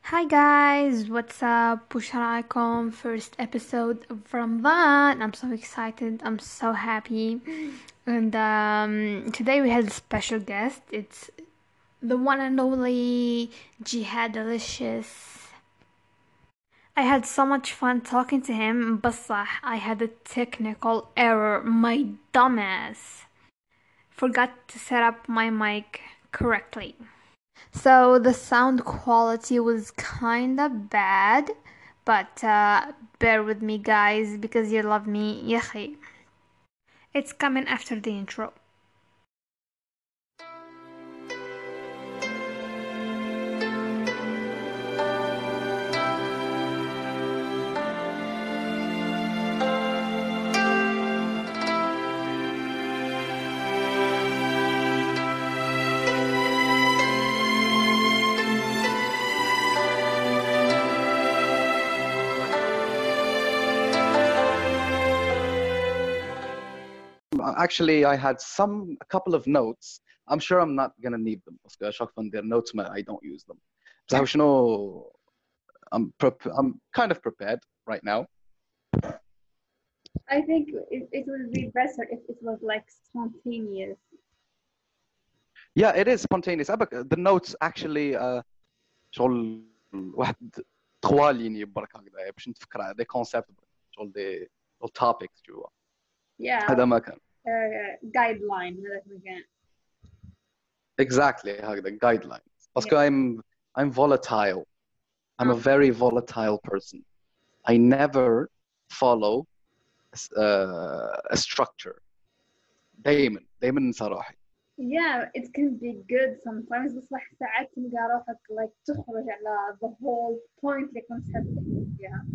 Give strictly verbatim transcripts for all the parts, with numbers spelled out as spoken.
Hi guys, what's up? Busharaicom, first episode of Ramadan. I'm so excited. I'm so happy. And um, today we had a special guest. It's the one and only Jihad Delicious. I had so much fun talking to him, but I had a technical error. My dumbass forgot to set up my mic correctly. So the sound quality was kinda bad, but uh, bear with me, guys, because you love me. يخي. It's coming after the intro. Actually, I had some a couple of notes. I'm sure I'm not gonna need them باسكو chaque fois ندير notes ما I don't use them. بصح شنو I'm prep I'm kind of prepared right now. I think it, it would be better if it was like spontaneous. Yeah, it is spontaneous. أبك the notes actually uh, شغل واحد trois lignes برك هكذا باش نتفكر على des concepts شغل des شغل topics tu vois. Yeah, هذا ما كان. uh, guideline هذاك المكان. Exactly هكذا guidelines. Yeah. باسكو I'm I'm volatile. I'm a very volatile person. I never follow uh, a structure. دايما دايما ننسى روحي. Yeah, it can be good sometimes بس صح ساعات تلقى روحك like تخرج على the whole point اللي كنت حاب فيها.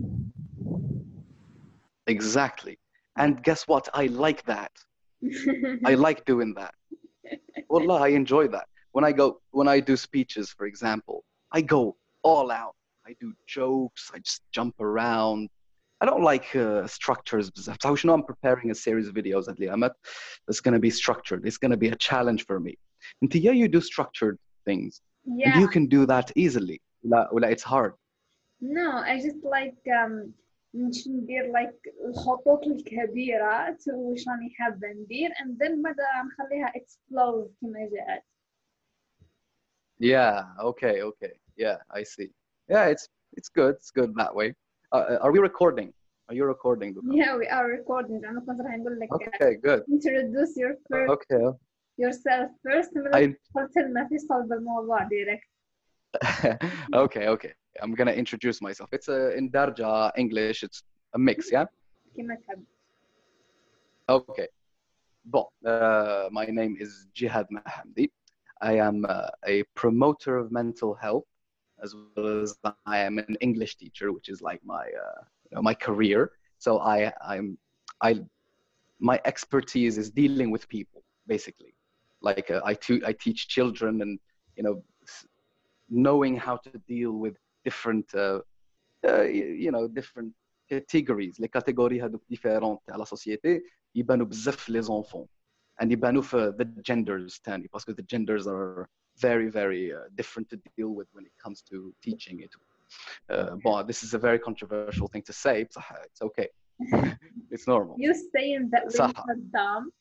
Exactly. And guess what? I like that. I like doing that. Wallah, I enjoy that. When I go, when I do speeches, for example, I go all out. I do jokes. I just jump around. I don't like uh, structures. So you know, I'm preparing a series of videos at Liamat. That's going to be structured. It's going to be a challenge for me. And yeah, you do structured things. Yeah. And you can do that easily. لا, ولا it's hard. No, I just like um, مش ندير like الخطوط الكبيرة to وش راني حابة ندير and then مدى نخليها explode كما جاءت. Yeah. Okay. Okay. Yeah. I see. Yeah. It's it's good. It's good that way. Uh, are we recording? Are you recording? Duka? Yeah, we are recording. أنا كنت راح نقول لك Okay. Good. introduce your first Okay. yourself first I. قلت لنا في صلب الموضوع direct. Okay. Okay. I'm gonna introduce myself. It's a in Darja English. It's a mix. Yeah. كما تحب. Okay. Bon. Uh, my name is Jihad Mahamdi. I am uh, a promoter of mental health, as well as I am an English teacher, which is like my uh, you know, my career. So I I'm I my expertise is dealing with people, basically. Like uh, I tu- I teach children, and you know, knowing how to deal with different uh, uh, you know different categories. Les catégories هذوك différentes à la société يبانوا بزاف les enfants. And يبانوا في the genders تاني because the genders are very very uh, different to deal with when it comes to teaching it. Uh, but this is a very controversial thing to say. بصح it's okay. It's normal. You saying that women صح. are dumb?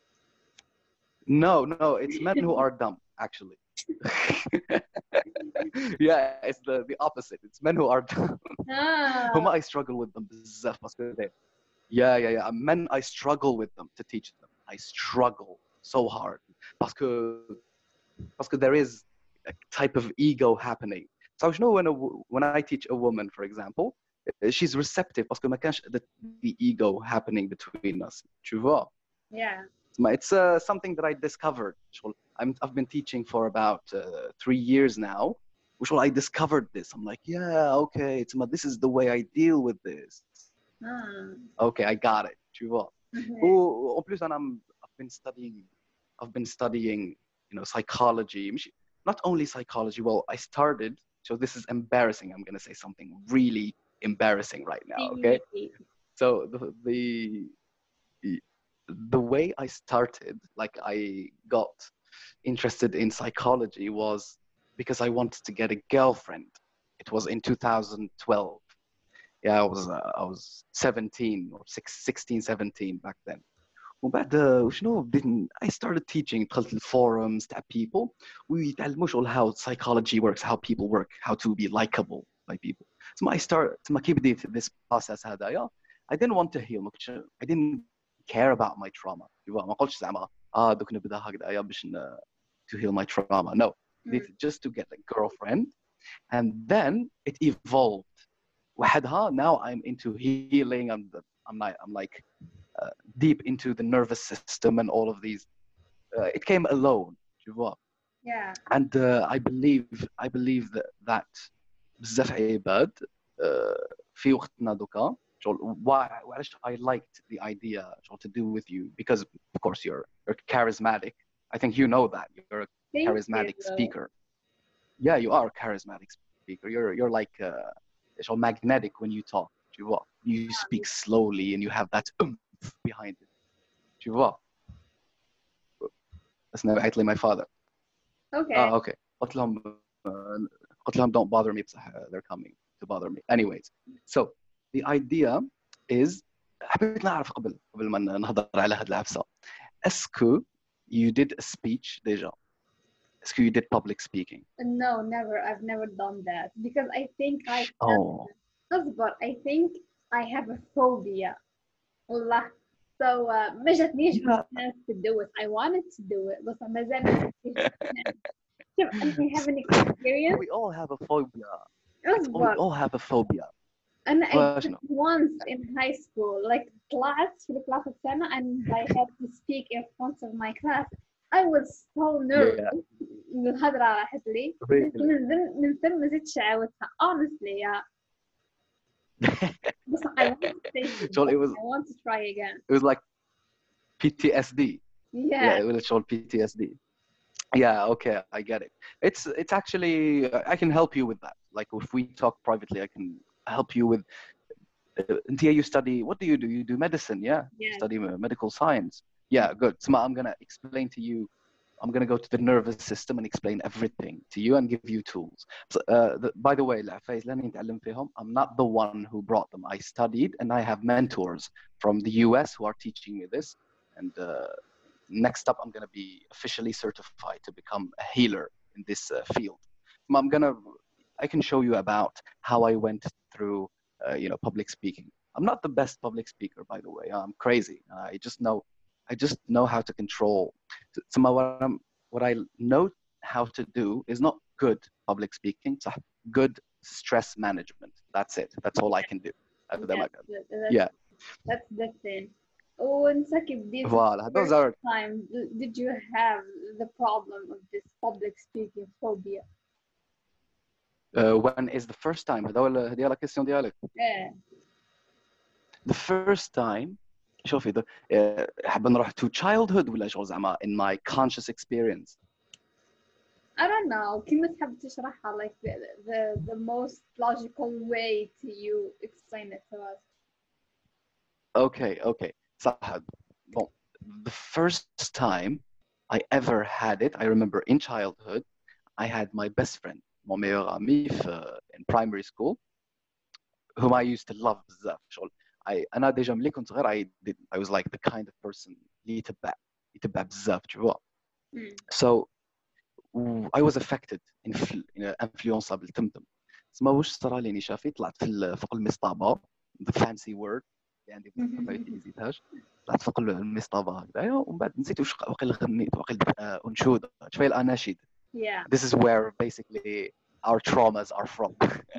No, no, it's men who are dumb, actually. Yeah, it's the, the opposite. It's men who are dumb. Ah. Whom I struggle with them بزاف باسكو they yeah yeah yeah men I struggle with them to teach them. I struggle so hard باسكو باسكو there is a type of ego happening. So you know when a, when I teach a woman, for example, she's receptive باسكو ما كانش the, the ego happening between us. Tu vois? Yeah. It's uh, something that I discovered. I'm, I've been teaching for about uh, three years now. Which I discovered this. I'm like, yeah, okay, it's this is the way I deal with this. Ah. Okay, I got it. Tu vois. Okay. En plus, I'm, I've been studying, I've been studying, you know, psychology. Not only psychology. Well, I started. So this is embarrassing. I'm gonna say something really embarrassing right now. Okay. So the the the way I started, like I got interested in psychology was because I wanted to get a girlfriend. It was in two thousand twelve. Yeah, I was uh, I was seventeen or sixteen, seventeen back then. وبعد وشنو بديت I started teaching. دخلت الفورums تاع people ويتعلموا شغل how psychology works, how people work, how to be likable by people. تما I start تما كي بديت this process هذايا I didn't want to heal. ما كنتش I didn't care about my trauma. ما قلتش زعما اه دوك نبدا هكذايا باش to heal my trauma. No, Mm. just to get a girlfriend, and then it evolved. وحدها now I'm into healing. I'm I'm like I'm like uh, deep into the nervous system and all of these. Uh, it came alone, tu vois. Yeah. And uh, I believe I believe that that بزاف عباد uh, في وقتنا دوكا شغل why وعلاش I liked the idea شغل to do with you because of course you're you're charismatic. I think you know that you're a Thank charismatic you. speaker. Yeah, you are a charismatic speaker. You're you're like uh, so magnetic when you talk. Tu vois? You speak slowly and you have that oomph behind it. Tu vois? That's نبعت لي my father. Okay. Oh, okay. قلت لهم قلت لهم don't bother me بصح they're coming to bother me. Anyways, so the idea is حبيت نعرف قبل قبل ما نهضر على هاد العفسة. اسكو you did a speech déjà? اسكو you did public speaking? No, never. I've never done that because I think I Oh. but I think I have a phobia. والله. So uh, ما جاتنيش Yeah. chance to do it. I wanted to do it, but ما زال شوف I have an experience. We all have a phobia. We أصبر. all have a phobia. أنا I Well, did شنو؟ it once in high school. Like طلعت في ثلاثة سنة and I had to speak in front of my class. I was so nervous. الهضرة راحت لي. Really? من ثم من ثم ما زدتش عاودتها. Honestly, yeah. But I want to say it. شغل it was I want to try again. it was like P T S D. Yeah. Yeah, it was called P T S D. Yeah, okay, I get it. It's it's actually I can help you with that. Like if we talk privately, I can help you with. Uh, Ntia, you study. What do you do? You do medicine, yeah? Yeah. You study uh, medical science. Yeah, good. So I'm gonna explain to you. I'm gonna go to the nervous system and explain everything to you and give you tools. So, uh, the, by the way, العفايز اللي نتعلم فيهم, I'm not the one who brought them. I studied and I have mentors from the U S who are teaching me this. And uh, next up, I'm gonna be officially certified to become a healer in this uh, field. I'm gonna, I can show you about how I went through, uh, you know, public speaking. I'm not the best public speaker, by the way. I'm crazy. I just know, I just know how to control. So what, I'm, what I know how to do is not good public speaking, it's good stress management. That's it. That's all I can do. That's, that's, yeah. That's the thing. Oh, and second, this Voilà, those are time did you have the problem of this public speaking phobia? Uh, when is the first time? هذه la question ديالك. Yeah. The first time, شوفي the حاب نروح to childhood ولا شغل زعما in my conscious experience. I don't know. كيف تحب تشرحها like the, the the most logical way to you explain it to us? Okay, okay. صح. Bon, the first time I ever had it, I remember in childhood, I had my best friend, mon meilleur ami in primary school, whom I used to love بزاف. شغل I أنا déjà ملي كنت صغير I did I was like the kind of person اللي يتبع يتبع بزاف tu vois. So I was affected influ influenceable تمتم. تسمى واش صرا لي شافي طلعت في فوق المصطبة the fancy word اللي عندي ما يتيزيتهاش. طلعت فوق المصطبة هكذايا ومن بعد نسيت واش واقيلا غنيت واقيلا أنشودة شوية الأناشيد. Yeah. This is where basically our traumas are from.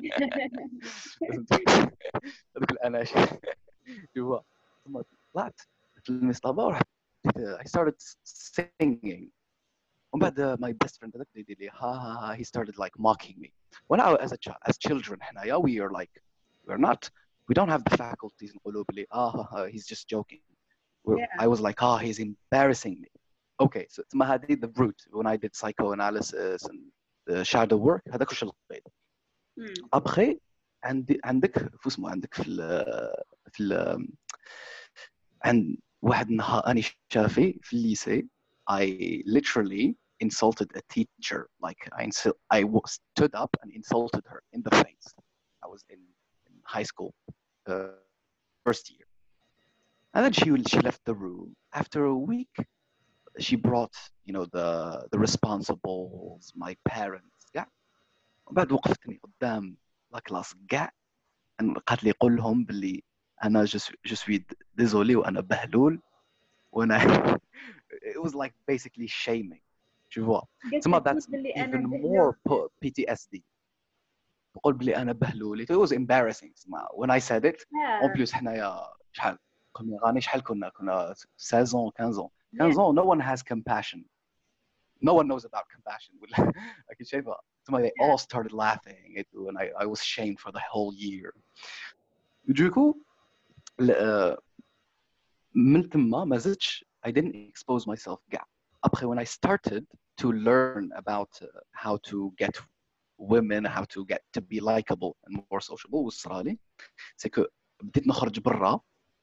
هذوك الأناشيد. جوا ثم طلعت في المصطبة ورحت I started singing. ومن بعد my best friend هذاك يدير لي ها ها ها he started like mocking me. When I as a child, as children حنايا we are like we're not we don't have the faculties نقولوا بلي ah he's just joking. Yeah. I was like ah he's embarrassing me. Okay, so ثم هذه the route when I did psychoanalysis and the shadow work هذاك واش لقيت. Après عندي عندك فو اسمه عندك في ال في ال عند واحد النهار أنا شافي في الليسي I literally insulted a teacher like I I stood up and insulted her in the face was in, in high school, uh, first year. And then she she left the room. After a week, she brought, you know, the the responsibles, my parents. Yeah. وبعد وقفتني قدام لا كلاس كاع، قالت لي قول لهم باللي انا جو سوي ديزولي وانا بهلول وانا it was like basically shaming. Tu vois. So that's even more P T S D. بقول بلي انا بهلول. It was embarrassing. When I said it, en plus حنايا شحال كنا غاني شحال كنا كنا seize ans quinze ans quinze ans. No one has compassion. No one knows about compassion. أكيد شايفة. So they all started laughing it, and I I was shamed for the whole year. Du coup من تما ما زدتش. I didn't expose myself كاع. Après, when I started to learn about uh, how to get women, how to get to be likable and more sociable, والصرالي c'est que بديت نخرج برا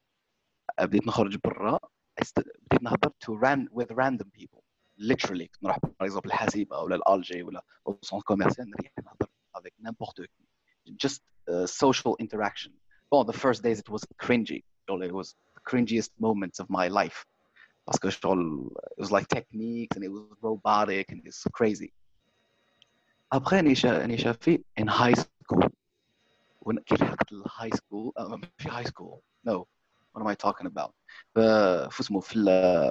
بديت نخرج برا بديت نهضر to ran with random people. Literally كنت نروح par exemple الحاسبة ولا الألجي ولا السونتر كوميرسيال نريح نهضر avec n'importe qui. Just uh, social interaction. Well, the first days it was cringy. It was the cringiest moments of my life. Because it was like techniques and it was robotic and it's crazy. Après, Nisha في in high school. When كي لحقت high school, uh, في high school. No, what am I talking about? في اسمه في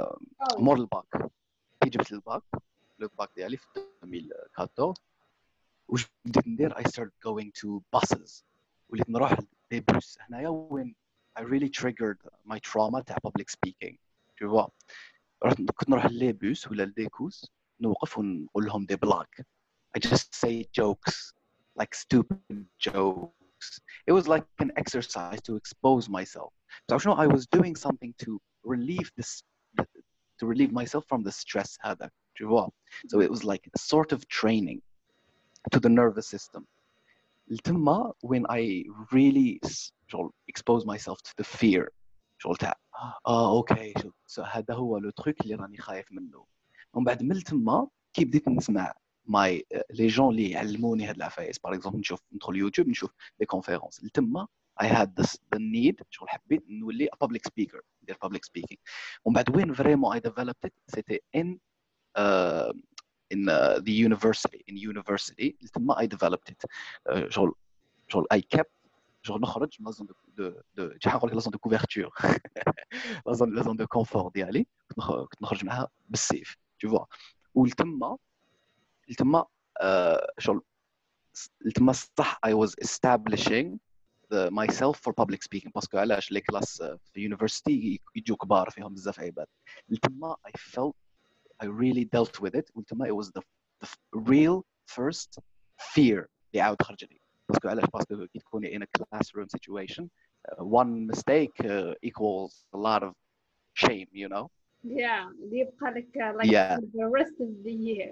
مور الباك. كي جبت الباك، الباك ديالي في ألفين وأربعطاش. وش بديت ندير؟ I started going to buses. وليت نروح للبيبوس. هنايا when I really triggered my trauma تاع public speaking. Tu vois. كنت نروح للبيبوس ولا للديكوس نوقف ونقول لهم دي بلاك. I just say jokes, like stupid jokes. It was like an exercise to expose myself. So you know, I was doing something to relieve this, to relieve myself from the stress هذا. Tu vois. So it was like a sort of training to the nervous system. التما when I really expose myself to the fear. شغل تاع اه اوكي شو هذا هو لو تروك اللي راني خايف منه. ومن بعد من تما كي بديت نسمع ماي لي جون اللي يعلموني هاد العفايس باغ اكزومبل نشوف ندخل يوتيوب نشوف لي كونفيرونس تما I had this the need شغل حبيت نولي a public speaker ندير public speaking. ومن بعد وين فريمون I developed it c'était in uh, in uh, the university in university تما I developed it. uh, شغل شغل I kept شغل نخرج من لازون دو دو شحال نقول لك لازون دو كوفرتور لازون لازون دو كونفور ديالي كنت نخرج معها بالسيف tu vois. ولتما لتما شغل لتما صح I was establishing the, myself for public speaking باسكو علاش لي كلاس في يونيفرسيتي يجوا كبار فيهم بزاف عباد. لتما I felt I really dealt with it. ولتما it was the, the real first fear اللي عاود خرج لي. باسكو علاش باسكو كي تكوني in a classroom situation uh, one mistake uh, equals a lot of shame, you know. Yeah, يبقى لك like yeah. for the rest of the year.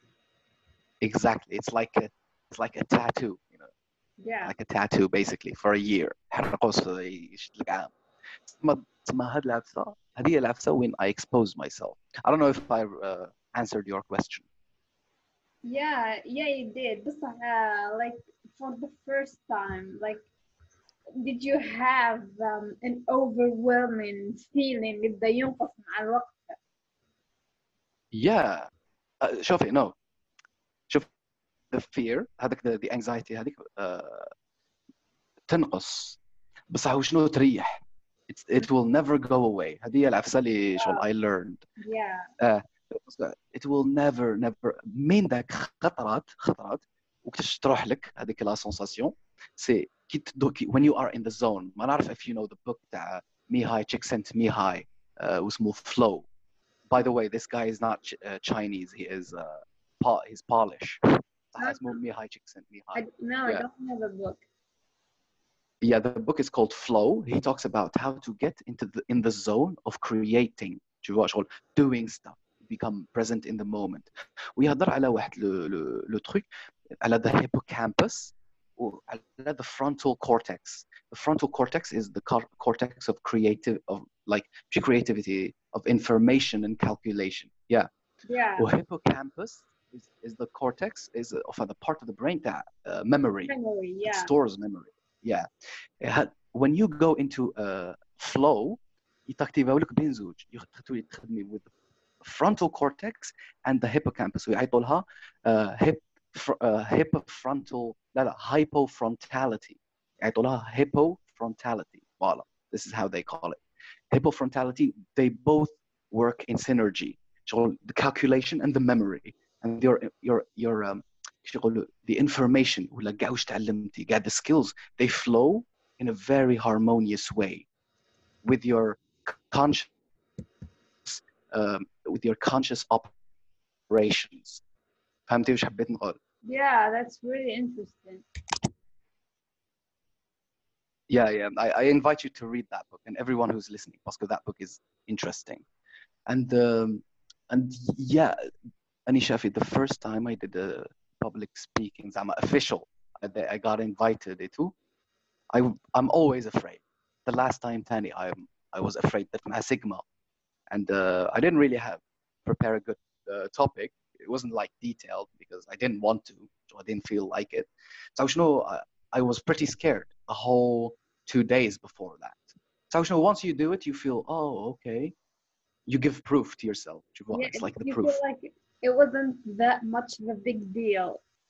Exactly, it's like a it's like a tattoo, you know. Yeah, like a tattoo basically for a year. حرقوس يشد لك عام. تما تما هاد العفسه هذه العفسه when I expose myself. I don't know if I uh, answered your question. Yeah, yeah, you did. But uh, like for the first time, like, did you have um, an overwhelming feeling اللي بدا ينقص مع الوقت؟ Yeah. Uh, شوفي no. شوف the fear هذاك the, the anxiety هذيك uh, تنقص بصح وشنو تريح. It's, it will never go away. هذه هي العفسه اللي شغل I learned. Yeah. Uh, it will never never من ذاك خطرات خطرات وكتش تروح لك هذيك لا سونساسيون سي كي تدوكي when you are in the zone. ما نعرف if you know the book تاع Mihai Csikszentmihalyi uh, واسمه Flow. By the way, this guy is not uh, Chinese. He is uh, pa- he's Polish. اسمه Mihai Csikszentmihalyi. No, yeah. I don't have a book. Yeah, the book is called Flow. He talks about how to get into the in the zone of creating, doing stuff, become present in the moment. ويهضر على واحد لو لو لو تروك على the hippocampus وعلى the frontal cortex. The frontal cortex is the cortex of creative of like creativity, of information and calculation. Yeah. Yeah. Well, hippocampus is, is the cortex is of the part of the brain that uh, memory. Memory, yeah. It stores memory. yeah. ه- when you go into a flow يتكتيفاو لك بين زوج تولي تخدمي with the frontal cortex and the hippocampus ويعيطوا لها uh, hip fr- uh, hippofrontal لا لا hypofrontality يعيطوا لها hippofrontality voilà this is how they call it hippofrontality they both work in synergy شغل the calculation and the memory and your your your um, شغل the information ولا كاع واش تعلمتي كاع the skills they flow in a very harmonious way with your conscious um, with your conscious operations فهمتي واش حبيت نقول Yeah, that's really interesting. yeah yeah I, I invite you to read that book and everyone who's listening because that book is interesting and um, and yeah Anisha the first time I did a public speaking I'm official I, I got invited to I I'm always afraid the last time Tani I I was afraid that my sigma and uh, I didn't really have prepare a good uh, topic it wasn't like detailed because I didn't want to so I didn't feel like it so you know I, I was pretty scared the whole two days before that so you know once you do it you feel oh okay you give proof to yourself Yeah, it's like the you proof feel like it wasn't that much of a big deal.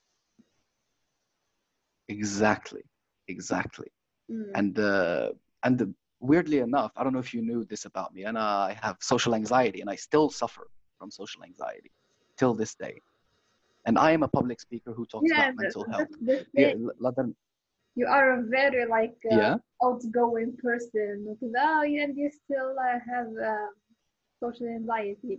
exactly exactly Mm. and uh, and the, weirdly enough I don't know if you knew this about me and I have social anxiety and I still suffer from social anxiety till this day and I am a public speaker who talks Yeah, about that, mental health that's the thing. the, the, You are a very like uh, yeah outgoing person. Because oh, yeah, and you still uh, have uh, social anxiety.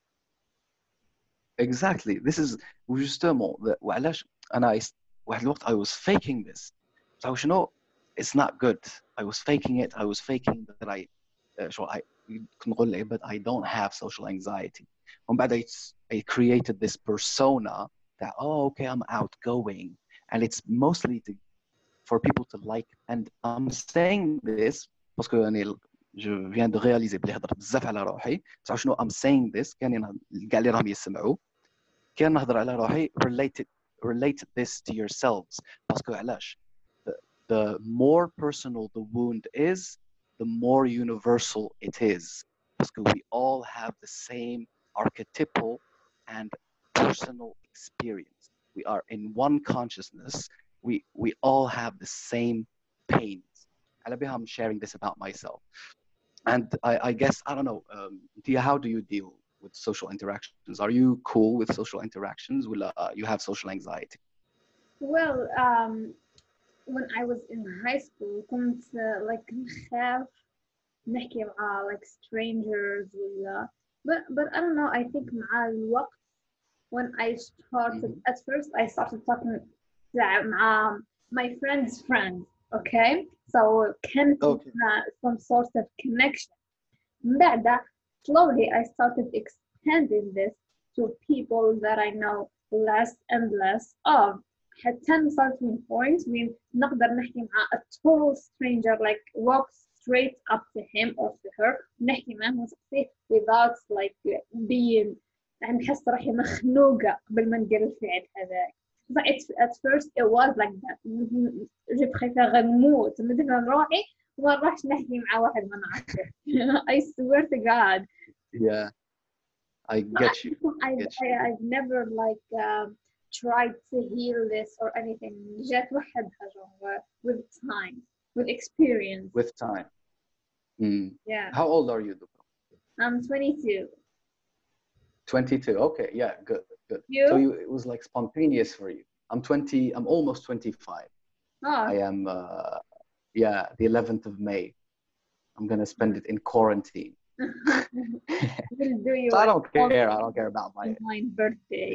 exactly this is justement the- وعلاش انا واحد الوقت I was faking this so you know it's not good I was faking it I was faking that I uh, شو I كنقول لعباد I don't have social anxiety ومن بعد I, I created this persona that oh okay I'm outgoing and it's mostly to, for people to like and I'm saying this parce que يعني je viens de réaliser بلي هضرت بزاف على روحي بصح شنو I'm saying this كان كاع اللي راهم يسمعوا كان نهضر على روحي relate it, relate this to yourselves باسكو علاش the, the more personal the wound is the more universal it is باسكو we all have the same archetypal and personal experience we are in one consciousness we we all have the same pains على بها I'm sharing this about myself and I, I guess I don't know um, Tia, how do you deal with social interactions? Are you cool with social interactions? Will uh, you have social anxiety? Well, um, when I was in high school, كنت uh, like نخاف نحكي مع like strangers ولا but but I don't know I think مع الوقت when I started Mhm. at first I started talking مع my friend's friends okay so كانت Okay. some sort of connection من بعد slowly I started extending this to people that I know less and less of حتى نوصل to a point when نقدر نحكي مع a total stranger like walk straight up to him or to her نحكي معه ونسقسيه without like being يعني نحس روحي مخنوقة قبل ما ندير الفعل هذاك but it's, at first it was like that je préfère نموت ندفن روحي وما نروحش نحكي مع واحد ما نعرفه I swear to God Yeah, I get you. I I've, get I, you. I've never like um, tried to heal this or anything جات وحدها genre with time with experience With time. Mm. yeah How old are you, Dubra? I'm twenty-two twenty-two. Okay, yeah, good, good. you So you, it was like spontaneous for you. I'm twenty. I'm almost twenty-five. oh I am. Uh, yeah, the eleventh of May. I'm gonna spend it in quarantine. we'll do you So I don't care. I don't care about my. my birthday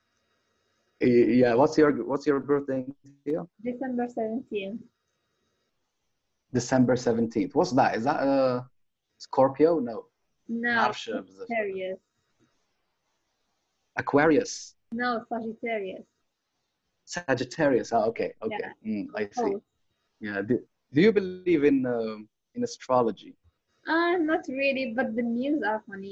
Yeah. What's your What's your birthday? Tia? December seventeenth December seventeenth. What's that? Is that a Scorpio? No. no نعرفش بزاف. Sagittarius Aquarius. no Sagittarius Sagittarius. Oh, okay. Okay. Yeah. Mm, I see. oh Yeah. Do, do you believe in um in astrology? uh, not really but the memes are funny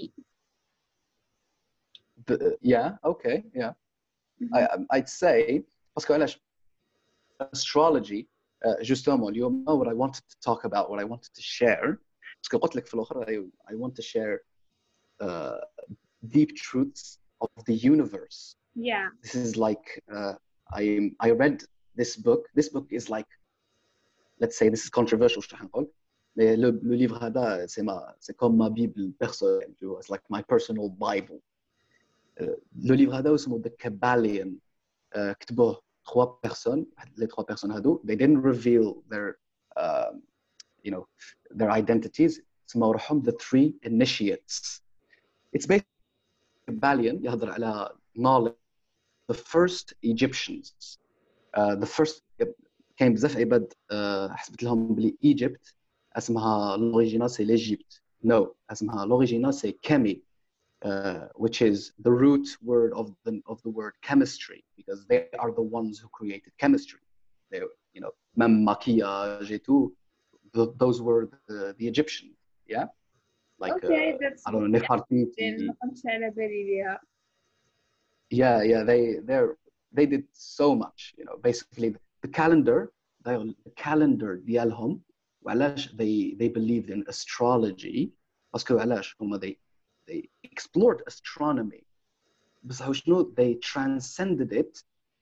The, yeah. Okay. Yeah. Mhm. I I'd say parce que علاش astrology uh, justement اليوم what I wanted to talk about, what I wanted to share, parce que قلت لك في الآخر I, I want to share uh, deep truths of the universe. Yeah. This is like uh, I I read this book. This book is like, let's say, this is controversial شو حنقول. Mais le, le livre هذا c'est ma c'est comme ma bible personnelle, tu vois. It's like my personal bible. Uh, le livre هذا اسمه The Kabbalion. Uh, كتبوه trois personnes. Les trois personnes هذو they didn't reveal their uh, you know their identities. اسمه روحهم the three initiates. It's basically Kabbalion يهضر على knowledge. The first Egyptians, uh, the first كاين بزاف عباد uh, حسبت لهم بلي Egypt اسمها l'original c'est l'Égypte. No, اسمها l'original c'est Kemi, uh, which is the root word of the of the word chemistry, because they are the ones who created chemistry. They, you know, même maquillage et tout, the, those were the, the Egyptians, yeah. Like Okay, uh, that's I don't know, Nefertiti. ما كنتش على بالي بيها. Yeah, yeah, they they're they did so much, you know. Basically, the calendar, the calendar ديالهم وعلاش they they believed in astrology. باسكو علاش هما they they explored astronomy. بصح شنو they transcended it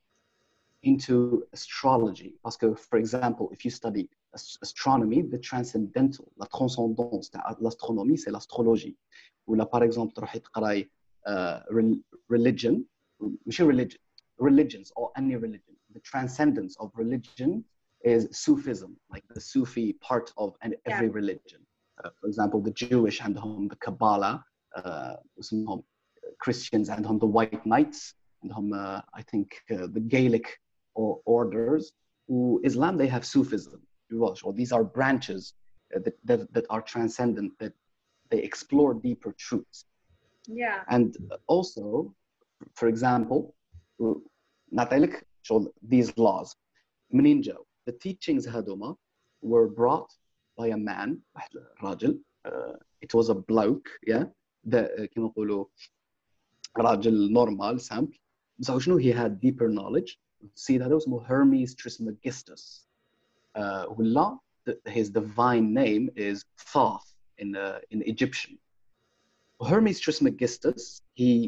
into astrology. Parce for example, if you study astronomy, the transcendental, la transcendance تاع l'astronomie, c'est l'astrologie. Ou là, par exemple, تروحي تقراي uh, religion, ماشي religion, religions or any religion. The transcendence of religion is Sufism, like the Sufi part of every yeah. religion. Uh, for example, the Jewish عندهم the Kabbalah, uh, اسمهم Christians عندهم the White Knights, عندهم uh, I think uh, the Gaelic or orders. Who Islam, they have Sufism. Or these are branches uh, that, that that are transcendent, that they explore deeper truths. Yeah. And also, for example, نعطيلك شغل these laws. منين جاو؟ The teachings هذوما were brought by a man, راجل. Uh, it was a bloke, yeah. The كما نقولوا راجل normal, simple. بس شنو he had deeper knowledge. السيد هذا اسمه Hermes Trismegistus. Uh, ولا his divine name is Thoth in uh, in Egyptian. Hermes Trismegistus, he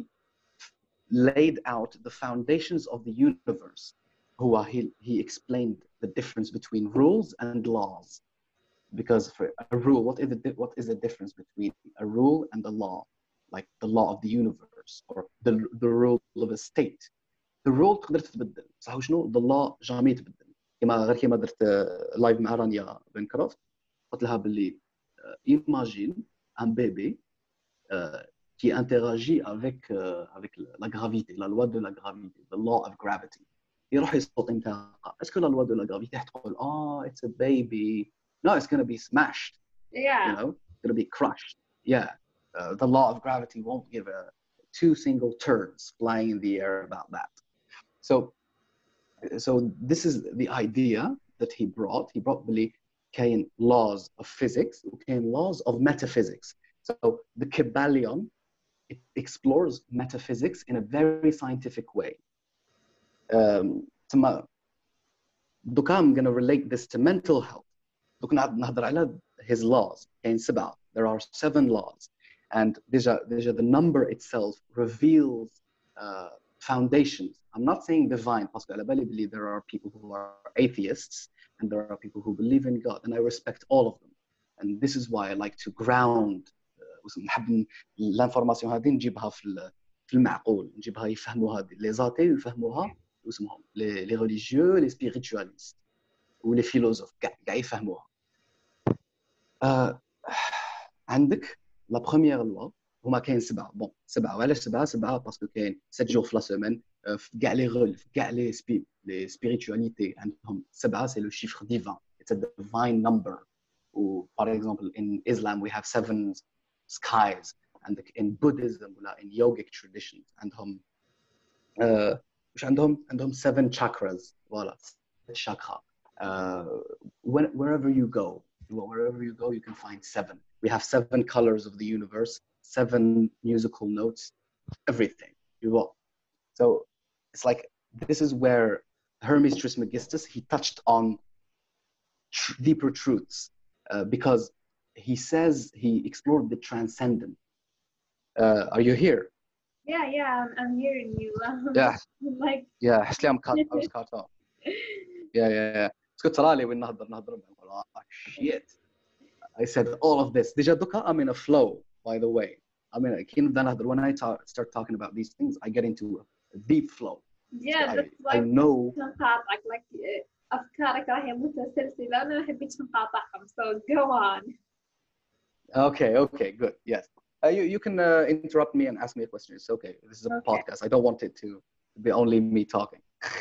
laid out the foundations of the universe. Who he, he explained the difference between rules and laws. Because for a rule, what is the what is the difference between a rule and a law? Like the law of the universe or the the rule of a state. The rule تقدر تتبدل. صح شنو؟ The law jamais يتبدل. كما غير كما درت لايف مع رانيا بنكروفت قلت لها باللي imagine un bébé uh, qui interagit avec uh, avec la gravité, la loi de la gravité, the law of gravity. يروح يصوت انت اسكو la loi de la gravité تقول oh it's a baby. No, it's going to be smashed. Yeah. You know, it's going to be crushed. Yeah. Uh, the law of gravity won't give a two single turds flying in the air about that. So so this is the idea that he brought. He brought really كاين laws of physics وكاين laws of metaphysics. So the Kabbalion, it explores metaphysics in a very scientific way. Um, دوكا I'm going to relate this to mental health. دوك نهضر على his laws. كاين سبعة. There are seven laws. And déjà, déjà the number itself reveals uh, foundations. I'm not saying divine, parce que على بالي بلي there are people who are atheists and there are people who believe in God, and I respect all of them. And this is why I like to ground نحب الانفورماسيون هذه نجيبها في في المعقول، نجيبها يفهموها لي زاتي يفهموها واسمهم لي لي ريليجيو لي سبيريتواليست ولي فيلوزوف كاع كاع يفهموها. آه عندك لا بروميير لوا هما كاين سبعه. بون سبعه، وعلاش سبعه؟ سبعه باسكو كاين سبعة جور في لا سيمين في كاع لي رول في كاع لي سبي لي سبيريتواليتي عندهم سبعه. سي لو شيفر ديفان. It's a divine number. و for example in Islam we have seven skies, and in Buddhism ولا in yogic traditions عندهم uh, مش عندهم عندهم seven chakras. Voilà, chakra. Uh, when, wherever you go, wherever you go, you can find seven. We have seven colors of the universe, seven musical notes, everything. You will. So it's like this is where Hermes Trismegistus, he touched on tr- deeper truths uh, because he says he explored the transcendent. Uh, are you here? Yeah, yeah, I'm, I'm hearing you. Um, Yeah, like, yeah. حسلي I'm cut. I was cut off. Yeah, yeah, yeah. اسكت ترالي وين نهضر نهضر oh, shit. I said all of this. Déjà دوكا I'm in a flow, by the way. I mean, كي نبدا نهضر when I talk, start talking about these things, I get into a deep flow. yeah, I, that's I why know. نقاطعك like uh, أفكارك راهي متسلسلة وأنا ما حبيتش نقاطعهم. So go on. Okay, okay, good. Yes. Uh, you, you can uh, interrupt me and ask me a question. It's okay. This is a Okay. podcast. I don't want it to be only me talking.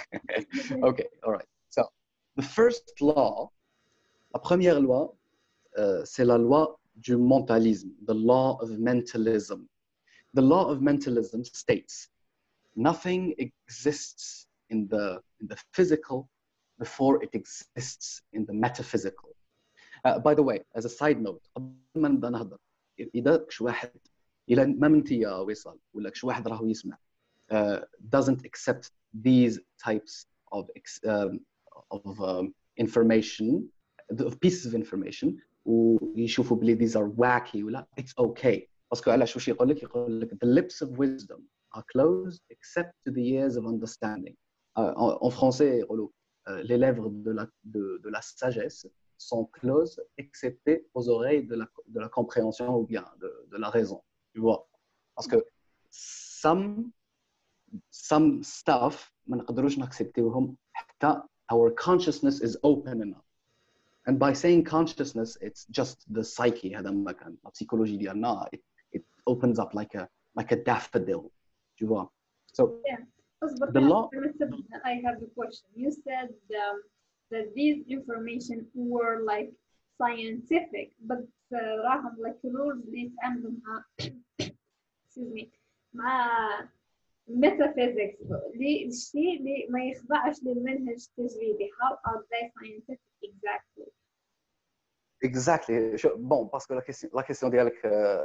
Okay, all right. So, the first law, la première loi, uh, c'est la loi du mentalisme, the law of mentalism. The law of mentalism states, nothing exists in the, in the physical before it exists in the metaphysical. Uh, by the way, as a side note, قبل ما نبدا نهضر اذا شي واحد الى ما منتي يا وصال ولا شي واحد راهو يسمع uh, doesn't accept these types of um, of um, information, of pieces of information ويشوفوا بلي these are wacky ولا it's okay باسكو علاش واش يقول لك يقول لك the lips of wisdom are closed except to the ears of understanding. Uh, en français يقولوا uh, les lèvres de la de, de la sagesse sont closes excepté aux oreilles de la, de la compréhension ou bien de, de la raison, tu vois. Parce que some, some stuff, ما نقدروش نacceptيوهم حتى our consciousness is open enough. And by saying consciousness, it's just the psyche, هذا ما كان la psychologie ديالنا, it, it opens up like a, like a daffodil, tu vois. So, yeah. the law... I have a question. You said um, that these information were like scientific, but راهم uh, like rules اللي يتعاملوا مع excuse me مع metaphysics اللي الشيء اللي ما يخضعش للمنهج التجريبي. How are they scientific exactly? Exactly. Bon, parce que la question, la question ديالك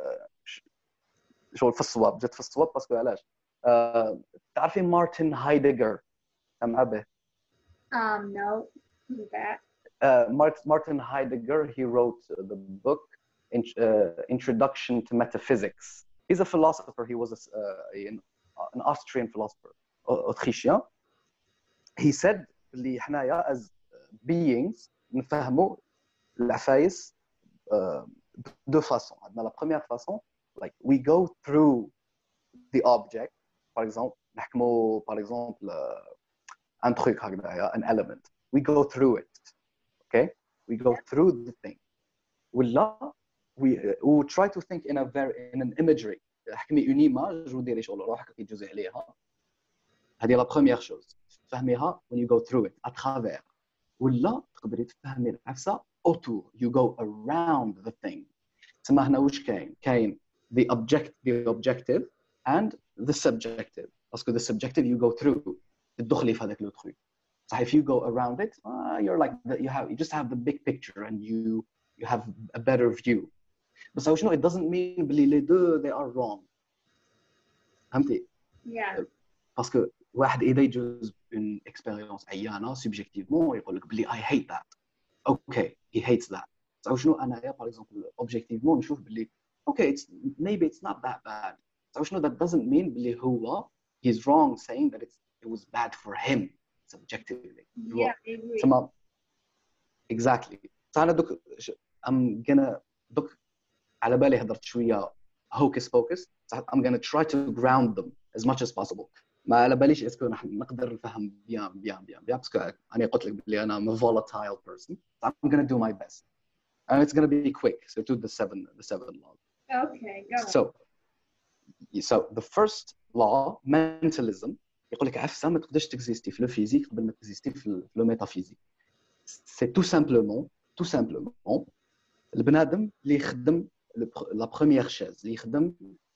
شغل في الصواب جات في الصواب باسكو علاش تعرفين مارتن هايدغر سمع به؟ Um, no. Who's that? Uh, Martin Heidegger, he wrote the book in, uh, Introduction to Metaphysics. He's a philosopher. He was a, uh, an, an Austrian philosopher, Autrichien. He said, اللي حنايا as beings نفهموا العفايس uh, deux façons. عندنا la première façon, like we go through the object. Par exemple, نحكموا par exemple uh, un truc هكذايا, an element. We go through it. Okay, we go through the thing. ولا we we try to think in a very in an imagery. حكمي une image وديري شغل روحك كي تجوزي عليها. هذه la première chose. تفهميها when you go through it à travers. ولا تقدري تفهمي العفسة autour. You go around the thing. تسمى هنا وش كاين؟ كاين the object the objective and the subjective. باسكو the subjective you go through. تدخلي في هذاك لو truc. So if you go around it, uh, you're like the, you have you just have the big picture and you you have a better view. But so you know, it doesn't mean بلي les deux they are wrong. فهمتي؟ Yeah. Parce que واحد إذا يجوز une expérience عيانة subjectivement يقول لك بلي I hate that. Okay, he hates that. So شنو أنا يا par exemple objectivement نشوف بلي okay it's maybe it's not that bad. So شنو that doesn't mean بلي هو he's wrong saying that it's it was bad for him. Subjectively. Yeah, I agree. تمام. Exactly. فأنا دوك I'm gonna دوك على بالي هضرت شوية hocus pocus. I'm gonna try to ground them as much as possible. ما على باليش اسكو نقدر نفهم بيان بيان بيان بيان باسكو أنا قلت لك بلي أنا I'm a volatile person. So I'm gonna do my best. And it's gonna be quick. So to the seven the seven laws. Okay, go on. So so the first law, mentalism. يقول لك عفسه ما تقدرش تكزيستي في لو فيزيك قبل ما تكزيستي في لو ميتافيزيك. سي تو سامبلومون تو سامبلومون البنادم اللي يخدم لا بروميير شاز اللي يخدم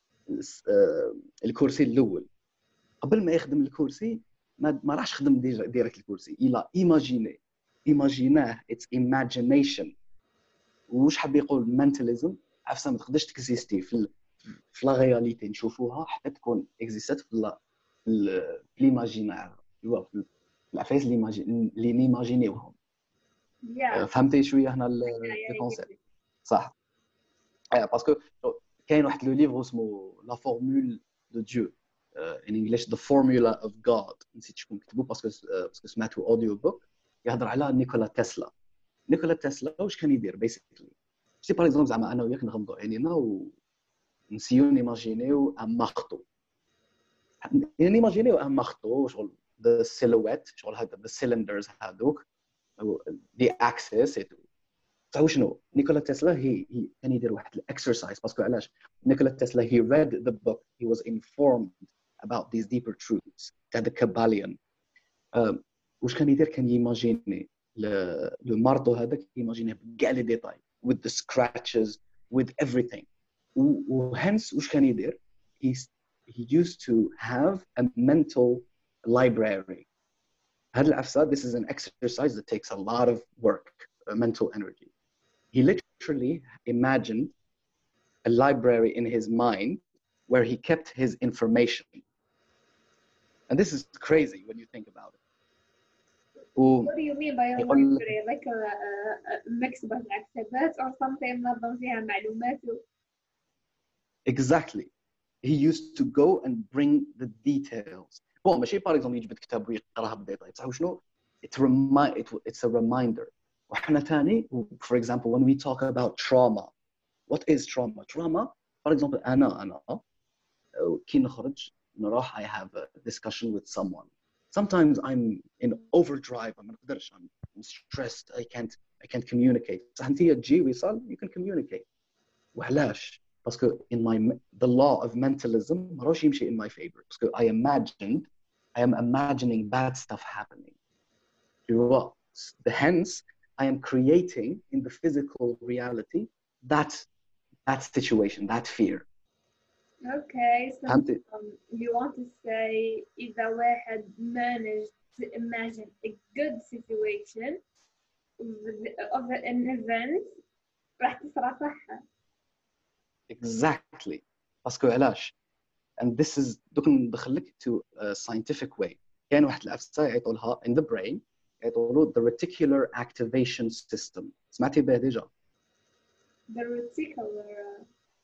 الكرسي الاول قبل ما يخدم الكرسي ما, ما راحش خدم ديريكت الكرسي الى ايماجيني ايماجيناه اتس ايماجينيشن. واش حاب يقول منتاليزم؟ عفسه ما تقدرش تكزيستي في في لا رياليتي نشوفوها حتى تكون اكزيستات في l'imaginaire, tu vois, العفايس اللي اللي نيماجينيوهم. yeah, فهمتي شويه هنا yeah, yeah, I get الكونسيبت it. صح؟ باسكو كاين واحد لو ليفر اسمه لا فورمول دو ديو ان انجلش ذا فورمولا اوف جاد، نسيت شكون كتبو باسكو باسكو سمعتو اوديو بوك يهضر على نيكولا تسلا. نيكولا تسلا واش كان يدير بيسيكلي؟ شتي باغ اكزومبل زعما انا وياك نغمضوا عينينا ونسيو نيماجينيو ان مارتو، نيماجينيو ان مارتو شغل ذا سيلويت شغل هذا ذا سيلندرز هذوك ذا اكسس. تعرفوا شنو نيكولا تسلا هي هي كان يدير واحد الاكسرسايز باسكو علاش نيكولا تسلا he read the book, he was informed about these deeper truths تاع the Kabbalion. um, واش كان يدير؟ كان ييماجيني لو مارتو هذاك ييماجينيه بكاع لي ديتاي with the scratches with everything. وهنس واش كان يدير؟ he, he used to have a mental library. هذا العفسه this is an exercise that takes a lot of work, uh, mental energy. He literally imagined a library in his mind where he kept his information. And this is crazy when you think about it. What do you mean by a library? Like a, a, a مكتبة العكتبات or something منظم فيها معلومات؟ Exactly. He used to go and bring the details. بون ماشي باغ اكزومبل يجبد كتاب ويقراها بالديتاي، بصح شنو؟ It remind it, it's a reminder. وحنا ثاني for example when we talk about trauma, what is trauma? Trauma for example انا انا كي نخرج نروح I have a discussion with someone. Sometimes I'm in overdrive, ما نقدرش, I'm stressed, I can't I can't communicate. بصح انت تجي ويصل you can communicate. وعلاش؟ باسكو in my the law of mentalism ما راهوش يمشي in my favor. باسكو I imagined I am imagining bad stuff happening. You know, hence I am creating in the physical reality that that situation, that fear. Okay, so فهمتي؟ um, you want to say إذا واحد managed to imagine a good situation of an event راح تصرى صح. Exactly. باسكو علاش؟ and this is دوك ندخل لك to a scientific way. كاين واحد العفسه يعيطوا لها in the brain يعيطوا له the reticular activation system. سمعتي به ديجا؟ The reticular.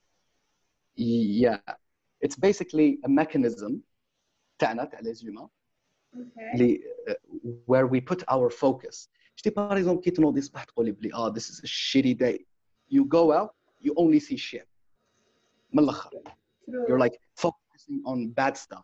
Yeah, it's basically a mechanism تاعنا تاع les humains Okay. اللي uh, where we put our focus. شتي باغ اكزومبل كي تنوضي الصباح تقولي بلي اه this is a shitty day, you go out you only see shit. من الاخر True. you're like focusing on bad stuff.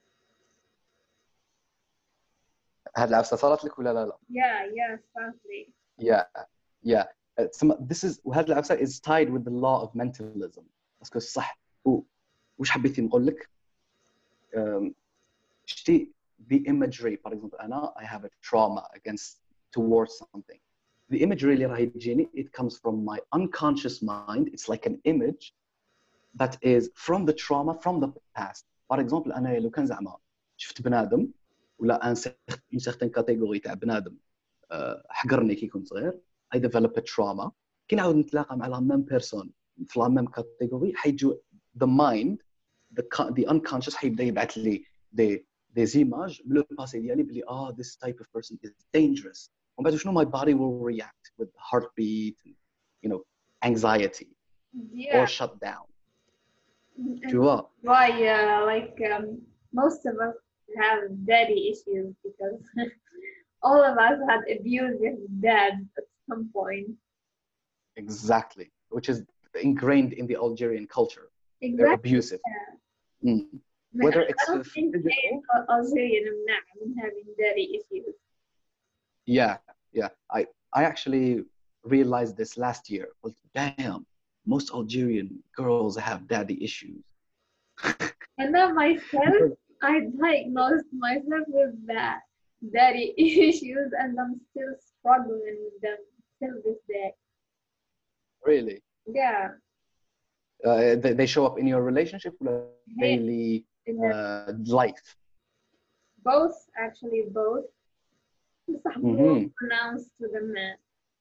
هاد العفسه صارت لك ولا لا لا؟ Yeah, yeah, sadly. Yeah, yeah. Uh, some- this is وهذا العفسه is tied with the law of mentalism. باسكو صح و وش حبيتي نقول لك؟ um, شتي the imagery for example أنا I have a trauma against towards something. The imagery اللي راهي تجيني it comes from my unconscious mind. It's like an image that is from the trauma from the past. For example أنا لو كان زعما شفت بنادم ولا ان une certaine catégorie تاع بنادم حقرني كي كنت صغير I develop a trauma. كي نعاود نتلاقى مع لا ميم بيرسون في لا ميم كاتيجوري حيجو the mind the the unconscious حيبدا يبعث لي des des images من الباسي ديالي بلي اه this type of person is dangerous. ومن بعد شنو my body will react with heartbeat and, you know anxiety Yeah. or shut down. And Tu vois? why uh, like um, most of us have daddy issues because all of us had abusive dads at some point. Exactly, which is ingrained in the Algerian culture. Exactly. They're abusive. Yeah. Mm. Whether I it's don't think physical. Algerian منع من having daddy issues. Yeah, yeah. I I actually realized this last year. Like, damn, most Algerian girls have daddy issues. And then myself, I diagnosed myself with that daddy issues, and I'm still struggling with them till this day. Really? Yeah. Uh, they, they show up in your relationship or daily In the, uh, life? both, actually, both. بصح more pronounced to the men.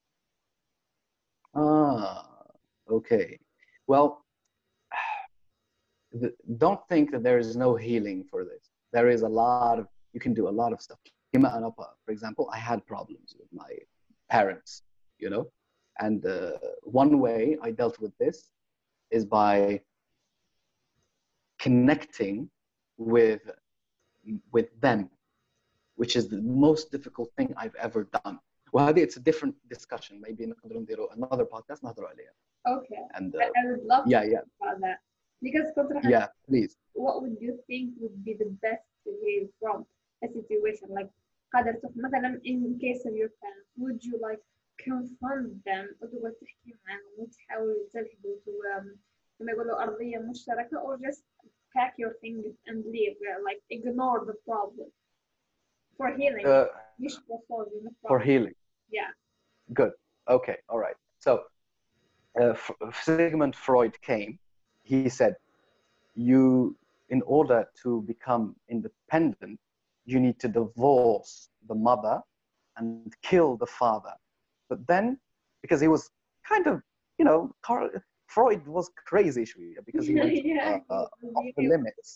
Ah, okay. Well, don't think that there is no healing for this. There is a lot of, you can do a lot of stuff. For example, I had problems with my parents. you know. And uh, one way I dealt with this is by connecting with with them, which is the most difficult thing I've ever done. وهذه it's a different discussion. Maybe نقدر نديروا another podcast نهضروا عليها. Okay. And I, uh, I would love yeah, to yeah, talk about that. Because كنت راح yeah, please. what would you think would be the best to heal from a situation like قادر تف مثلا in case of your parents, would you like confront them وتقعد تحكي معاهم وتحاول تلحقوا تو- كما يقولوا أرضية مشتركة, or just pack your things and leave, like ignore the problem for healing, Uh, مش for solving the for problem. healing. Yeah. Good. Okay. All right. So uh, F- Sigmund Freud came. He said, you, in order to become independent, you need to divorce the mother and kill the father. But then, because he was kind of, you know, Carl, Freud was crazy شوية because he went Yeah. uh, uh, off the limits.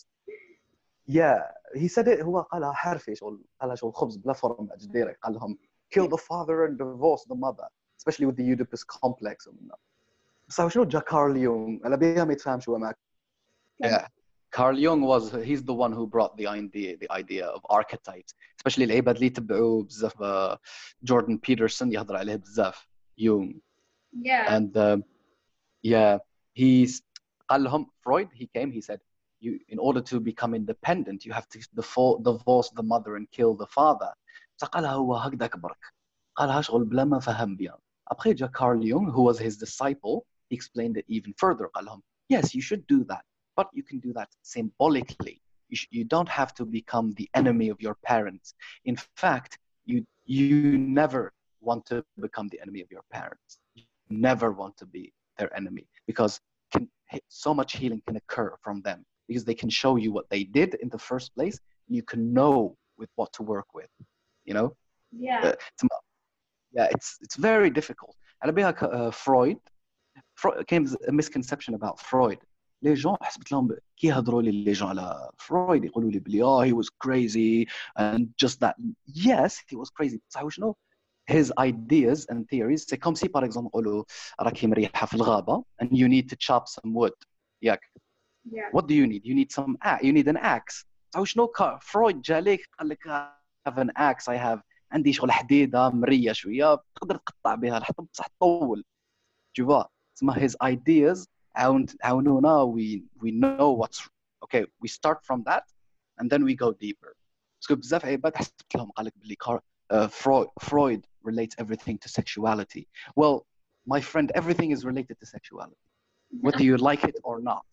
Yeah, he said it. هو قالها حرفي شغل قالها شغل خبز بلا فرم جديرك قال لهم kill the father and divorce the mother, especially with the Oedipus complex ومنها. بس شنو جا كارل يونغ على بيها ما يتفهم شو معك. Yeah, Carl Jung was he's the one who brought the idea the idea of archetypes, especially العباد اللي يتبعوا بزاف uh, Jordan Peterson يهضر عليه بزاف Jung. Yeah. And um, yeah, he's قال لهم Freud, he came, he said, you, in order to become independent, you have to defo- divorce the mother and kill the father. فقالها هو هكذا كبرك. قالها شغل بلا ما فهم بيان. Après جا Carl Jung, who was his disciple, he explained it even further. قال لهم, yes, you should do that, but you can do that symbolically. You, sh- you don't have to become the enemy of your parents. In fact, you you never want to become the enemy of your parents. You never want to be their enemy, because can, so much healing can occur from them, because they can show you what they did in the first place. You can know with what to work with, you know. Yeah. Uh, it's, yeah, it's it's very difficult. على بالها uh, Freud, Freud came a misconception about Freud. لي جون حسبت لهم كي يهضروا لي لي جون على فرويد يقولوا لي بلي اه he was crazy and just that. Yes, he was crazy. بصح شنو his ideas and theories, c'est comme si par exemple نقولوا راكي مريحه في الغابه and you need to chop some wood. ياك. Yeah. What do you need? You need some a- you need an axe. بصح شنو فرويد جالك قال لك I have an axe, I have عندي شغل حديده مريه شويه تقدر تقطع بها الحطب بصح تطول. Tu vois, تسمى his ideas عاون عاونونا we we know what's okay. We start from that and then we go deeper. باسكو بزاف عباد حسبت لهم قال لك بلي uh, Freud Freud relates everything to sexuality. Well, my friend, everything is related to sexuality, whether you like it or not.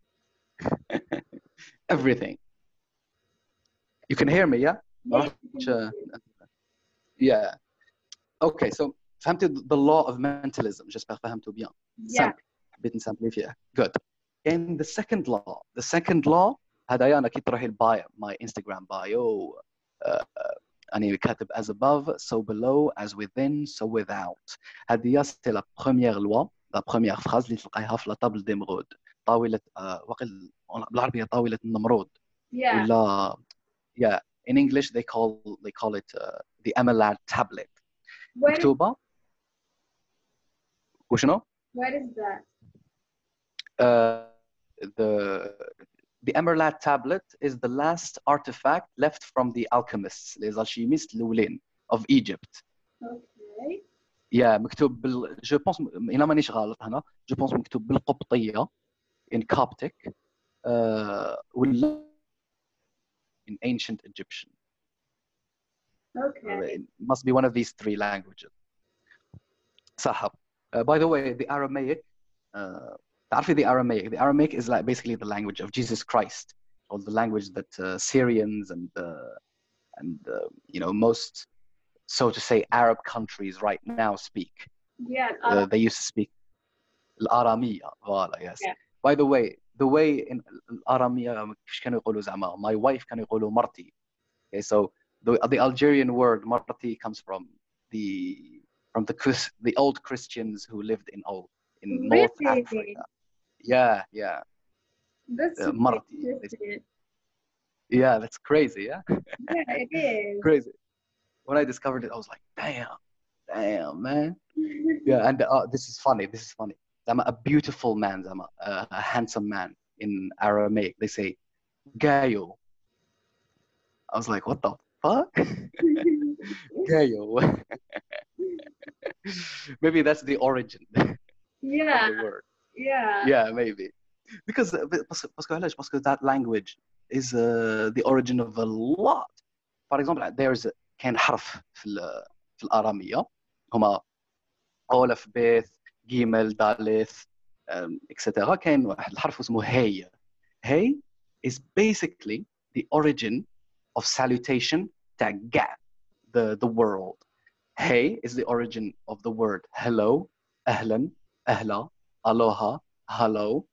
Everything. You can hear me, yeah? Yeah. Yeah. Okay, so فهمت the law of mentalism. J'espère فهمته bien. Yeah. حبيت نسامبليفيها. Good. In the second law, the second law هذايا أنا كي تروحي البايو, my Instagram bio, uh, أنا كاتب as above, so below, as within, so without. هذه c'est la première loi, la première phrase اللي تلقايها في la table d'émeraude. طاولة uh, وقل بالعربية طاولة النمرود. Yeah. ولا yeah, in English they call they call it uh, the Emerald tablet. Where, مكتوبة وشنو؟ where is that? Uh, the the Emerald tablet is the last artifact left from the alchemists, les alchimistes الأولين of Egypt. Okay. Yeah, مكتوب بال je pense إلا مانيش غلط هنا je pense مكتوب بالقبطية in Coptic uh, ولا in ancient Egyptian. Okay. Uh, it must be one of these three languages. صح. Uh, by the way, the Aramaic, uh, تعرفي the Aramaic, the Aramaic is like basically the language of Jesus Christ, or the language that uh, Syrians and uh, and uh, you know most, so to say, Arab countries right now speak. Yeah. Uh, they used to speak الآرامية. Voilà, yes. Yeah. By the way, the way in الآرامية كيفاش كانوا يقولوا زعما my wife كانوا يقولوا مرتي. Okay, so the the Algerian word marti comes from the from the the old Christians who lived in old in North Really? Africa. Yeah, yeah. That's Uh, super marti. interesting. Yeah, that's crazy. Yeah, Yeah, it is. crazy. When I discovered it, I was like, damn, damn, man. Yeah, and uh, this is funny. This is funny. زعما a beautiful man, زعما uh, a handsome man in Aramaic. They say gayo. I was like, what the fuck? Gayo. Maybe that's the origin Yeah, of the word. yeah, Yeah, maybe. Because uh, بس- باسكو علاش؟ باسكو that language is uh, the origin of a lot. For example, there's a- كان حرف في ال- في الآرامية هما أولف بيث جيمل داليث et cetera. كاين واحد الحرف اسمه هي. Hey is basically the origin of salutation تاع كاع the the world. Hey is the origin of the word hello, أهلا, أهلا, aloha, hello.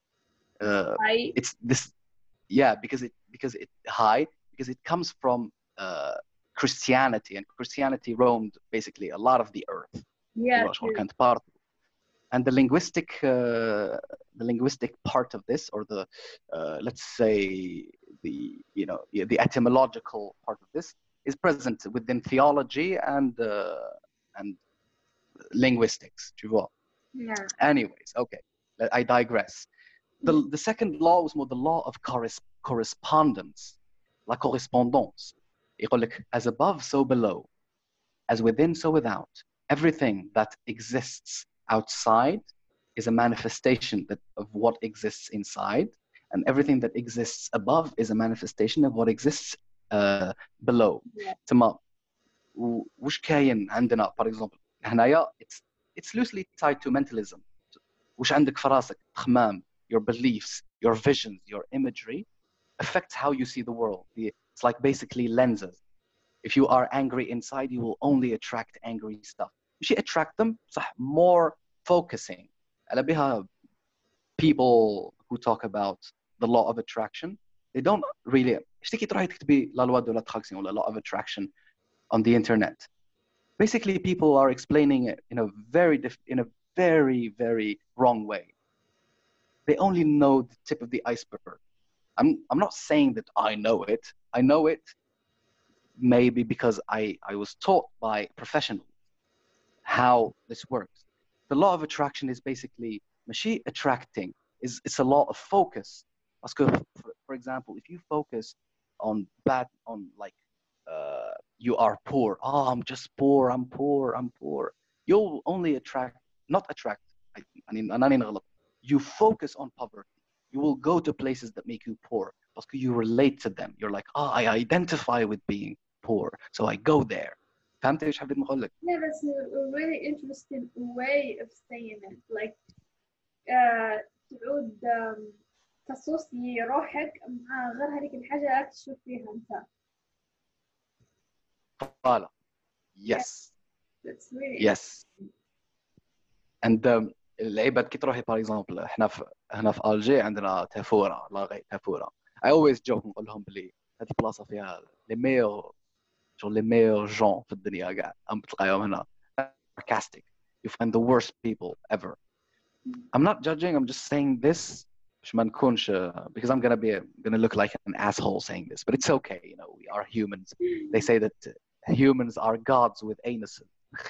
Uh, I, it's this, yeah, because it because it hi because it comes from uh, Christianity, and Christianity roamed basically a lot of the earth. yeah, شغل true. كانت part. And the linguistic uh, the linguistic part of this, or the uh, let's say the you know the etymological part of this, is present within theology and uh, and linguistics. Tu vois? Yeah, Anyways, okay, I digress. The, the second law was more the law of corres- correspondence, la correspondance. يقول لك, as above, so below, as within, so without. Everything that exists outside is a manifestation that, of what exists inside, and everything that exists above is a manifestation of what exists uh, below. yeah, تمام. و- وش كاين عندنا, for example, هنايا it's it's loosely tied to mentalism. وش عندك في راسك تخمام, your beliefs, your visions, your imagery affects how you see the world. It's like basically lenses. If you are angry inside, you will only attract angry stuff. مش attract them, صح, more focusing. على بها people who talk about the law of attraction, they don't really. ايش تكي تروحي تكتبي la loi de l'attraction or la law of attraction on the internet. Basically, people are explaining it in a very diff- in a very very wrong way. They only know the tip of the iceberg. I'm I'm not saying that I know it. I know it maybe because I, I was taught by professionals how this works. The law of attraction is basically machine attracting. Is it's a law of focus. For, for example, if you focus on bad, on like uh, you are poor. Oh, I'm just poor. I'm poor. I'm poor. You'll only attract, not attract. I, I mean, you focus on poverty. You will go to places that make you poor because you relate to them. You're like, oh, I identify with being poor, so I go there. فهمت ايش حبيت نقول لك؟ yeah. That's a, a really interesting way of saying it. Like, uh, تعود um, تصوصي روحك مع غير هذيك الحاجة تشوف فيها أنت. Voilà. Yeah, Yes. that's really Yes. And um, العباد كي تروحي باغ اكزومبل احنا في هنا في الجي عندنا تافوره لاغي تافوره. I always joke نقول لهم بلي هذه بلاصه فيها لي ميور شغل لي ميور جون في الدنيا كاع ام تلقاهم هنا. Sarcastic. You find the worst people ever. I'm not judging, I'm just saying this باش ما نكونش because I'm gonna be gonna look like an asshole saying this, but it's okay, you know, we are humans. They say that humans are gods with anuses.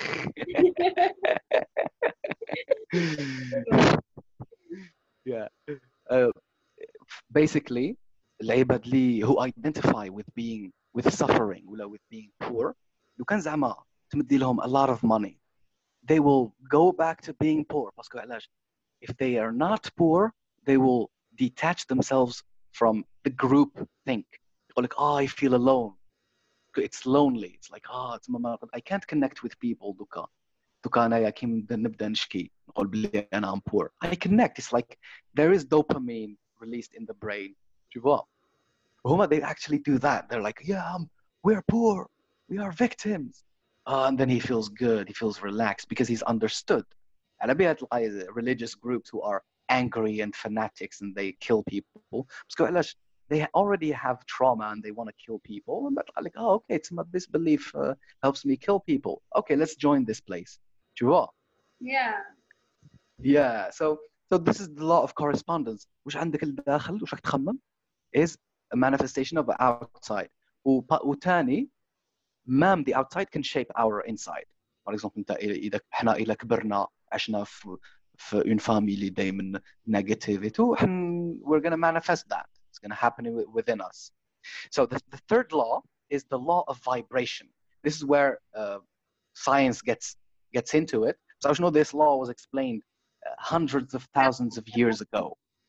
Yeah. Uh, basically, العباد اللي who identify with being with suffering ولا with being poor, لو كان زعما تمدي لهم a lot of money, they will go back to being poor. باسكو علاش؟ If they are not poor, they will detach themselves from the group think. يقول لك, oh, I feel alone. It's lonely. It's like, oh, I can't connect with people. دوكا دوكا أنا كي نبدأ نشكي نقول بلي أنا I'm poor. I connect. It's like there is dopamine released in the brain. Tu vois? هما, they actually do that. They're like, yeah, um, we're poor. We are victims. Uh, and then he feels good. He feels relaxed because he's understood. على بها تلقاي religious groups who are angry and fanatics and they kill people. باسكو علاش؟ they already have trauma and they want to kill people. But like, oh, okay, it's not this belief uh, helps me kill people. Okay, let's join this place. Tu vois? Yeah. Yeah. So so this is the law of correspondence. وش عندك الداخل وش راك تخمم is a manifestation of the outside. وتاني, ma'am, the outside can shape our inside. for example انت اذا احنا الى كبرنا عشنا في في une famille دائما negativity we're going to manifest that. It's going to happen within us. So the, the third law is the law of vibration. This is where uh, science gets gets into it. So I know this law was explained uh, hundreds of thousands of years ago.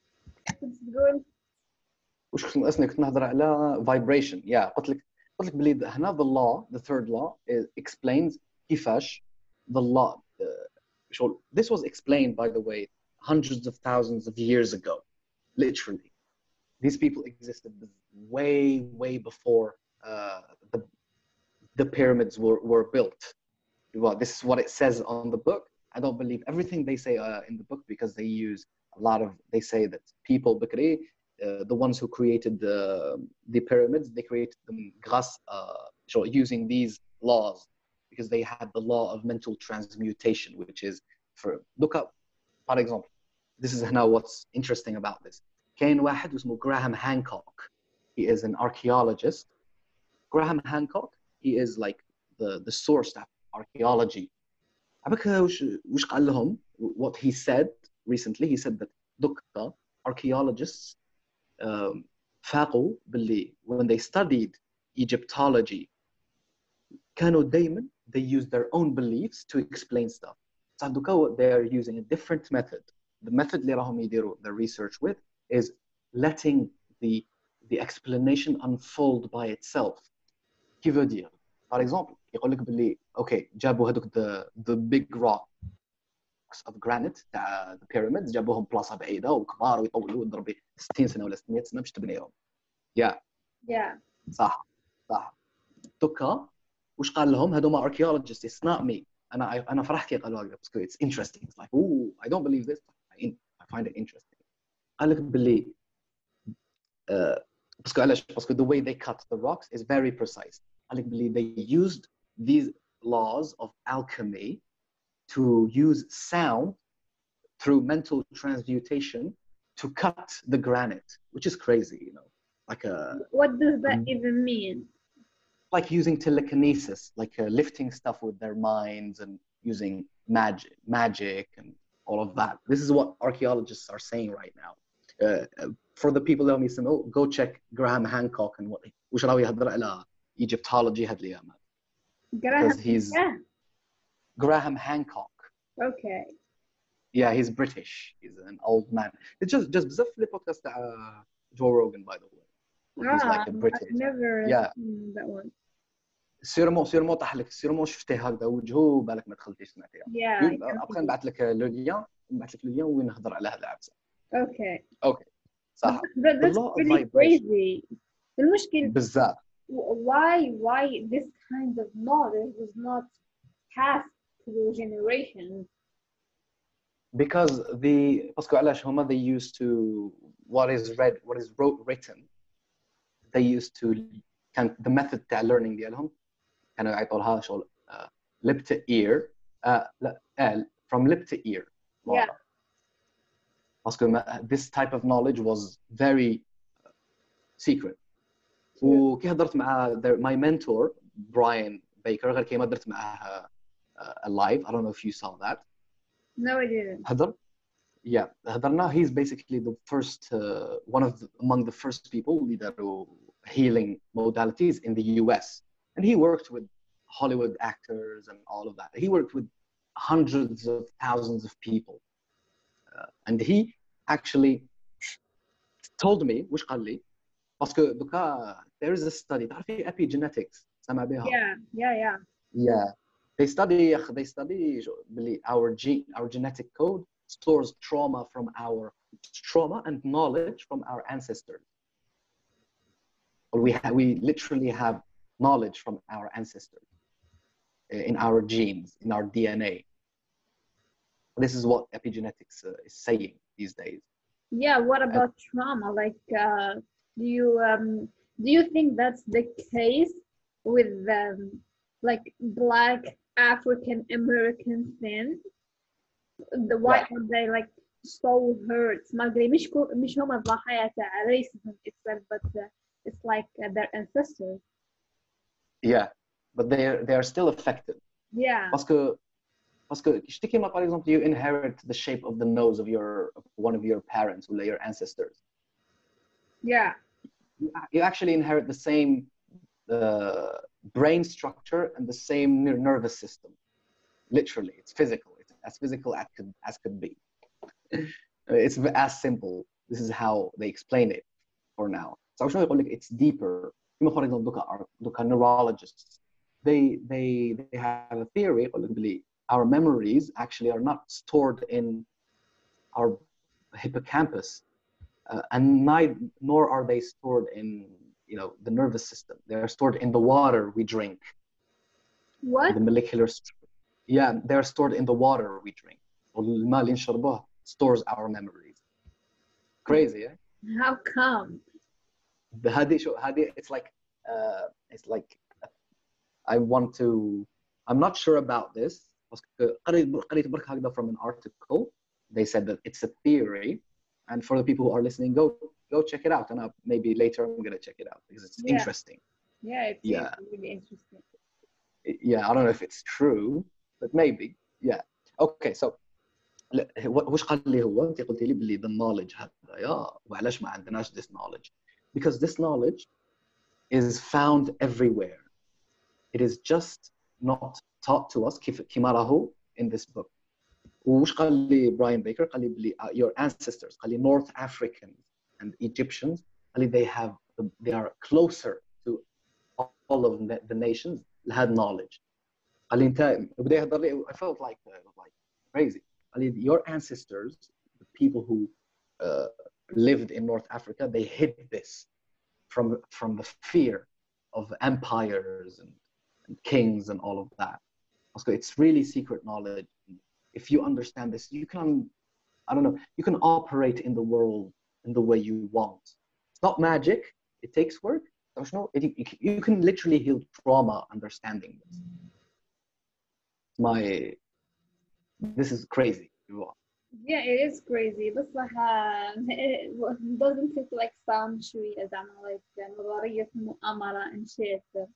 وش كنت ناقصني كنت نهضر على vibration. Yeah, قلت لك قلت لك بلي هنا the law, the third law is, explains كيفاش the law. Uh, this was explained, by the way, hundreds of thousands of years ago. Literally, these people existed way, way before uh, the the pyramids were were built. Well, this is what it says on the book. I don't believe everything they say uh, in the book because they use a lot of. They say that people, Bakri, uh, the ones who created the the pyramids, they created them grâce, uh, using these laws because they had the law of mental transmutation, which is for look up. For example, this is now what's interesting about this. كاين واحد اسمه Graham Hancock. He is an archaeologist. Graham Hancock, he is like the the source of archaeology. عبك وش وش قال لهم? What he said recently, he said that دكا archaeologists um, فاقوا باللي when they studied Egyptology كانوا دايما they use their own beliefs to explain stuff. So دوكا they are using a different method. The method اللي راهم يديروا their research with is letting the the explanation unfold by itself. Qui veut dire, par exemple, يقول لك باللي okay جابوا هذوك the the big rocks of granite تاع the pyramids جابوهم بلاصه بعيده وكبار ويطولوا ويضرب ستين سنه ولا ستمية سنه باش تبنيهم. Yeah. Yeah. صح صح. دوكا وش قال لهم هذوما archaeologists, it's not me. انا انا فرحت كي قالوا هكذا because it's interesting. It's like oh I don't believe this. I, I find it interesting. قال لك باللي uh, باسكو علاش باسكو the way they cut the rocks is very precise. قال لك باللي they used these laws of alchemy to use sound through mental transmutation to cut the granite, which is crazy, you know, like a. What does that um, even mean? Like using telekinesis, like uh, lifting stuff with their minds and using magic, magic and all of that. This is what archaeologists are saying right now. Uh, for the people that know, go check Graham Hancock and what وش راهو يهضر على Egyptology هاد الأيامات. Because he's yeah. Graham Hancock. Okay. Yeah, he's British. He's an old man. It's just just بزاف في podcast تاع Joe Rogan, by the way. He's ah, like a British. I've never yeah. seen that one. سيرمون سيرمون طاح لك سيرمون شفتيه هكذا وجهه بالك ما دخلتيش سمعتيها. Yeah. ابغى نبعث لك لو لين نبعث لك لو لين وين نهضر على هذه العبسه. Okay. Okay. صح. But that's really crazy. المشكلة بزاف. Why why this kind of knowledge was not passed through generations? Because the باسكو علاش هما they used to what is read what is wrote written they used to كان the method تاع learning ديالهم كانوا يعطوا لها شغل uh, lip to ear uh, لا uh, from lip to ear. Yeah. باسكو this type of knowledge was very secret. وكي هضرت مع my mentor Brian Baker غير كي ما درت معاه uh, live. I don't know if you saw that. No, I didn't. هضر yeah هضرنا. He's basically the first uh, one of the, among the first people اللي داروا healing modalities in the U S, and he worked with Hollywood actors and all of that. He worked with hundreds of thousands of people, uh, and he actually told me وش قال لي باسكو دوكا there is a study تعرفي epigenetics سمع بها. Yeah, yeah, yeah. Yeah, they study they study بلي our gene our genetic code stores trauma from our trauma and knowledge from our ancestors. We have, we literally have knowledge from our ancestors in our genes, in our D N A. This is what epigenetics uh, is saying these days. Yeah, what about uh, trauma? Like, uh, do you um, do you think that's the case with um, like Black African American sin? The why yeah. are they like so hurt? مش مش هم ضحايا تاع racism itself, but uh, it's like uh, their ancestors. Yeah, but they are they are still affected. Yeah. Parce que parce que تشتكي ما, par exemple, you inherit the shape of the nose of your of one of your parents or your ancestors. Yeah. You, you actually inherit the same uh, brain structure and the same ner- nervous system. Literally, it's physical. It's as physical as could as could be. It's as simple. This is how they explain it for now. So شنو يقول لك it's deeper. كما for example دوكا دوكا neurologists. They they they have a theory يقول لك بلي our memories actually are not stored in our hippocampus, uh, and neither, nor are they stored in you know the nervous system. They are stored in the water we drink. What? The molecular st- yeah, they're stored in the water we drink. والماء اللي نشربه stores our memories. Crazy, yeah? How come? The هذه شو هذه it's like uh, it's like I want to I'm not sure about this. قريت قريت برك هكذا from an article. They said that it's a theory, and for the people who are listening, go go check it out, and I'll, maybe later I'm gonna check it out because it's Yeah. interesting. Yeah, it's, Yeah. it's really interesting. Yeah, I don't know if it's true, but maybe. Yeah. Okay, so لا، هو- وش قال لي هو؟ انت قلتي لي باللي the knowledge هذا يا وعلاش ما عندناش this knowledge? Because this knowledge is found everywhere. It is just not taught to us كيف كيما راهو in this book. وش قال لي براين بيكر؟ قال لي باللي uh, your ancestors قال لي North Africans and Egyptians قال لي they have they are closer to all of the, the nations اللي had knowledge. قال لي انت بدا يهضر لي I felt like uh, like crazy. قال لي your ancestors, the people who uh, lived in North Africa, they hid this from from the fear of empires and, and kings and all of that. So it's really secret knowledge. If you understand this, you can, I don't know, you can operate in the world in the way you want. It's not magic. It takes work. There's no, it, you can literally heal trauma understanding this. My, this is crazy. Yeah, it is crazy. بس uh, it doesn't it like sound شوية زعما like نظرية مؤامرة and shit.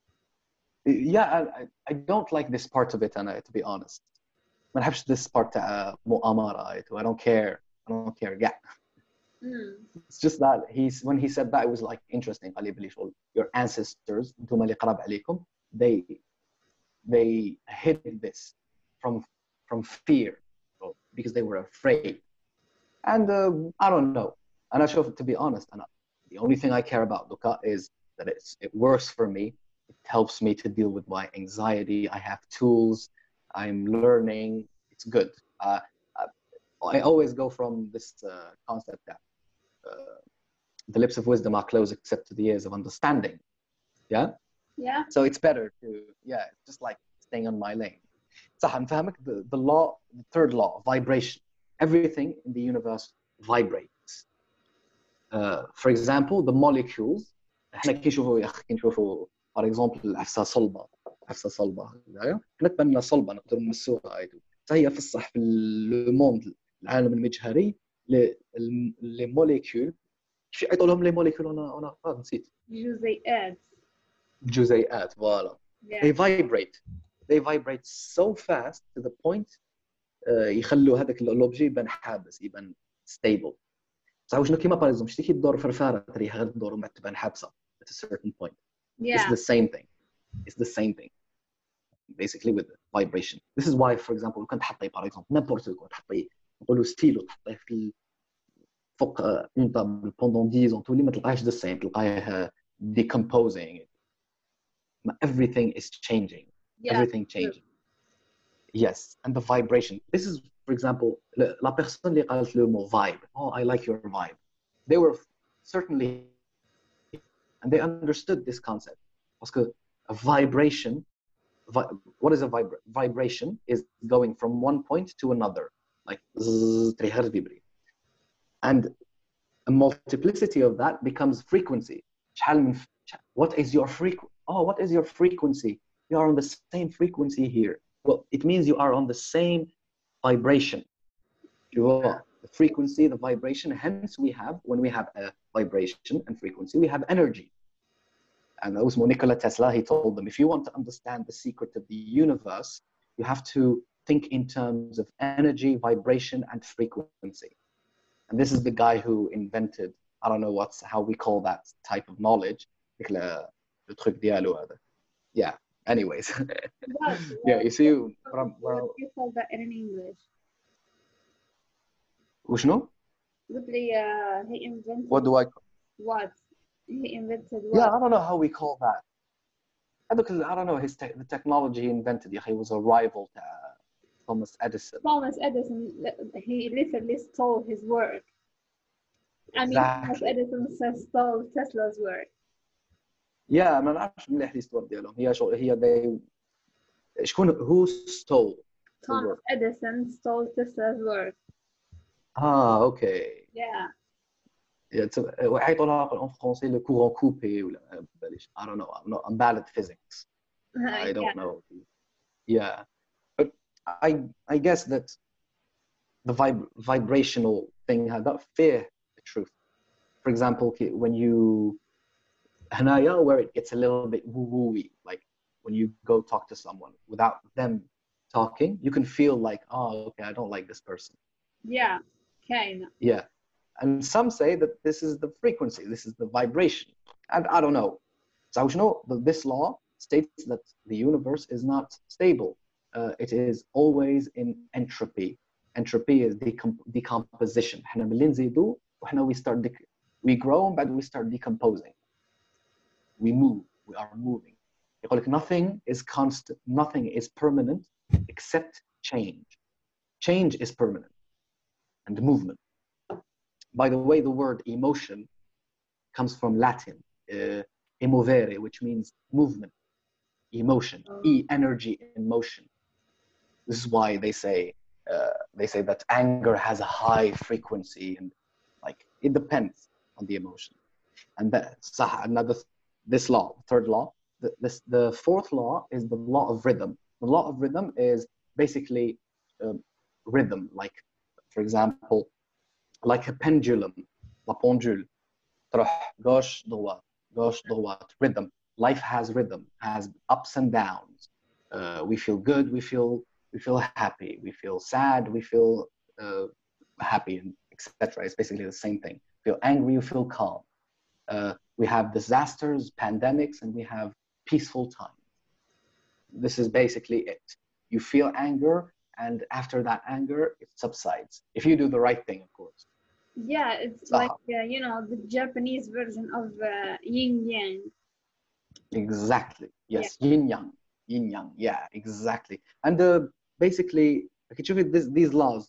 Yeah, I, I don't like this part of it, أنا, to be honest. ما نحبش this part تاع مؤامرة. I don't care. I don't care. Yeah. Mm. It's just that he's when he said that it was like interesting. قال لي بلي شغل your ancestors انتم اللي قراب عليكم they they hid this from from fear because they were afraid. And uh, I don't know. أنا أشوف, to be honest, أنا the only thing I care about Dukkha is that it's it works for me. It helps me to deal with my anxiety. I have tools. I'm learning. It's good. Uh, I always go from this uh, concept that uh, the lips of wisdom are closed except to the ears of understanding. Yeah? Yeah. So it's better to, yeah, just like staying on my lane. صح نفهمك the, the law, the third law, vibration. Everything in the universe vibrates. Uh, for example, the molecules. احنا كي نشوفوا يا اخي كي نشوفوا for example العفسه صلبه عفسه صلبه هكذايا حنا تبان لنا صلبه نقدروا نمسوها هاي هي في الصح في الموند العالم المجهري لي موليكول شو يعيطوا لهم لي موليكول انا انا نسيت جزيئات. جزيئات فوالا. Yeah. They vibrate. They vibrate so fast to the point uh, يخلوا هذاك اللوبجي يبان حابس يبان stable. صح شنو كيما باغ شتي كي تدور فرفاره تريها غير تدور وما تبان حابسه at a certain point. Yeah. It's the same thing. It's the same thing. Basically with the vibration. This is why for example كنت تحطي باغ اكزومبل نيمبورت كو تحطي نقولوا ستيلو تحطيه في فوق اون طابل بوندون دix ans تولي ما تلقاهش the same تلقاه decomposing. Everything is changing. Yeah. Everything changing. Yes, and the vibration. This is, for example, la personne اللي قالت le mot vibe. Oh, I like your vibe. They were certainly, and they understood this concept. Because a vibration, vi what is a vibra vibration? Is going from one point to another, like and a multiplicity of that becomes frequency. What is your frequency? Oh, what is your frequency? You are on the same frequency here. Well, it means you are on the same vibration. The frequency, the vibration. Hence, we have, when we have a vibration and frequency, we have energy. and that was Nikola Tesla. He told them, if you want to understand the secret of the universe, you have to think in terms of energy, vibration, and frequency. And this is the guy who invented, I don't know what's how we call that type of knowledge. Le truc dialogue هذا. Yeah. Anyways. What, Yeah, what, you see, what, from what where do you call that in English? وشنو? قلت لي uh, he invented What do I? what? He invented Yeah, what? I don't know how we call that. Because I don't know his te- the technology he invented. Yeah, he was a rival to uh, Thomas Edison. Thomas Edison, he literally stole his work. I mean, Thomas Exactly. Edison stole Tesla's work. Yeah, ما نعرفش مليح الهيستوري ديالهم. هي شو هي they شكون who stole the Thomas work? Edison stole Tesla's work. Ah, okay. Yeah. Yeah, it's a- ويعيطوا en français le courant coupé ولا ما باليش. I don't know. I'm not. I'm bad at physics. I don't Yeah. know. Yeah, but I I guess that the vib- vibrational thing had that fear the truth. For example, ki- when you هنايا where it gets a little bit woo-woo-y, like when you go talk to someone without them talking, you can feel like, oh, okay, I don't like this person. Yeah. Kind of. Yeah. And some say that this is the frequency, this is the vibration. And I don't know. So you know, this law states that the universe is not stable. Uh, it is always in entropy. Entropy is decomp- decomposition. إحنا ملي نزيدو وإحنا we start dec- we grow but we start decomposing. We move. We are moving. يقول لك nothing is constant. Nothing is permanent except change. Change is permanent and movement. By the way, the word emotion comes from Latin, uh, emovere, which means movement, emotion, e, energy in motion. This is why they say uh, they say that anger has a high frequency, and like it depends on the emotion. And that another this law, third law, the, this the fourth law is the law of rhythm. The law of rhythm is basically um, rhythm, like for example, like a pendulum, la pendule, تروح gauche droite, gauche droite, rhythm. Life has rhythm, has ups and downs. Uh, we feel good, we feel we feel happy, we feel sad, we feel uh, happy, and et cetera. It's basically the same thing. You feel angry, you feel calm. Uh, we have disasters, pandemics, and we have peaceful times. This is basically it. You feel anger, and after that anger, it subsides. If you do the right thing, of course. Yeah, it's Saha. like uh, you know the Japanese version of uh, yin yang. Exactly. Yes. Yin yang. Yin yang. Yeah. Exactly. And uh, basically, this, these laws,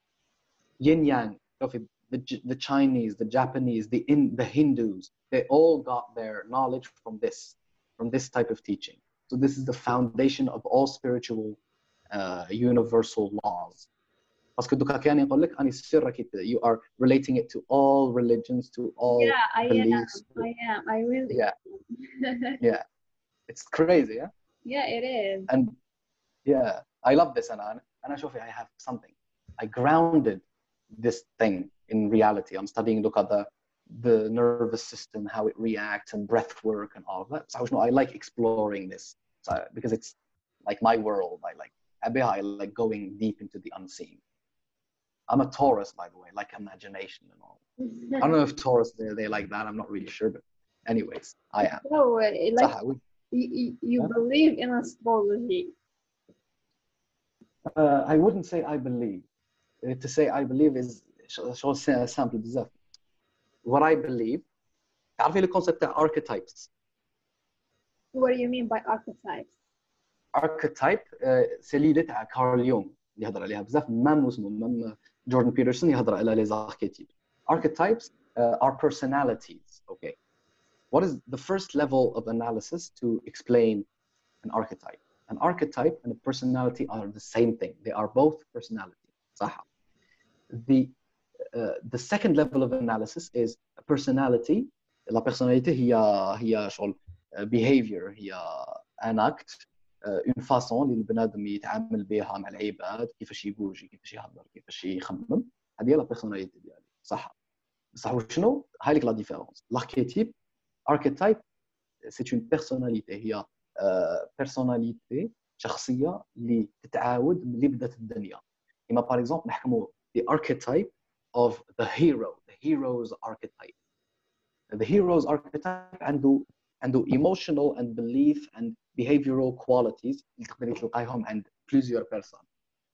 yin yang, the the Chinese, the Japanese, the in the Hindus, they all got their knowledge from this, from this type of teaching. So this is the foundation of all spiritual, uh, universal laws. Parce que دوكا كان يقول لك أني السر you are relating it to all religions, to all Yeah, I beliefs. am. I am. I really. Yeah. Yeah. It's crazy, yeah. Yeah, it is. And yeah, I love this, and I, and I show I have something. I grounded this thing in reality. I'm studying, look at the the nervous system, how it reacts, and breath work, and all of that. So I, know, I like exploring this, so, because it's like my world. I like I like going deep into the unseen. I'm a Taurus, by the way, like imagination and all. I don't know if Taurus they they like that. I'm not really sure, but anyways, I am. So, uh, like So, we, you, you huh? believe in astrology? Uh, I wouldn't say I believe. Uh, to say I believe is شغل simple بزاف. What I believe, تعرفي le concept of archetypes. What do you mean by archetypes? Archetype c'est l'idée تاع كارل يونغ اللي يهضر عليها بزاف مام اسمه مام جوردن بيترسون يهضر على les archetypes. Archetypes uh, are personalities. Okay. What is the first level of analysis to explain an archetype? An archetype and a personality are the same thing. They are both personality. صح. The uh, the second level of analysis is a personality. La personnalité هي هي شغل behavior هي an act une façon اللي البنادم يتعامل بها مع العباد كيفاش يبوجي كيفاش يهضر كيفاش يخمم هذه هي لا بيرسوناليتي ديالي صح بصح وشنو هاي لك لا ديفيرونس l'archétype archetype c'est une personnalité هي personnalité شخصية اللي تتعاود ملي بدات الدنيا. كما par exemple نحكموا the archetype of the hero, the hero's archetype. The hero's archetype عنده عنده emotional and belief and behavioral qualities اللي تقدري تلقايهم عند plusieurs personnes.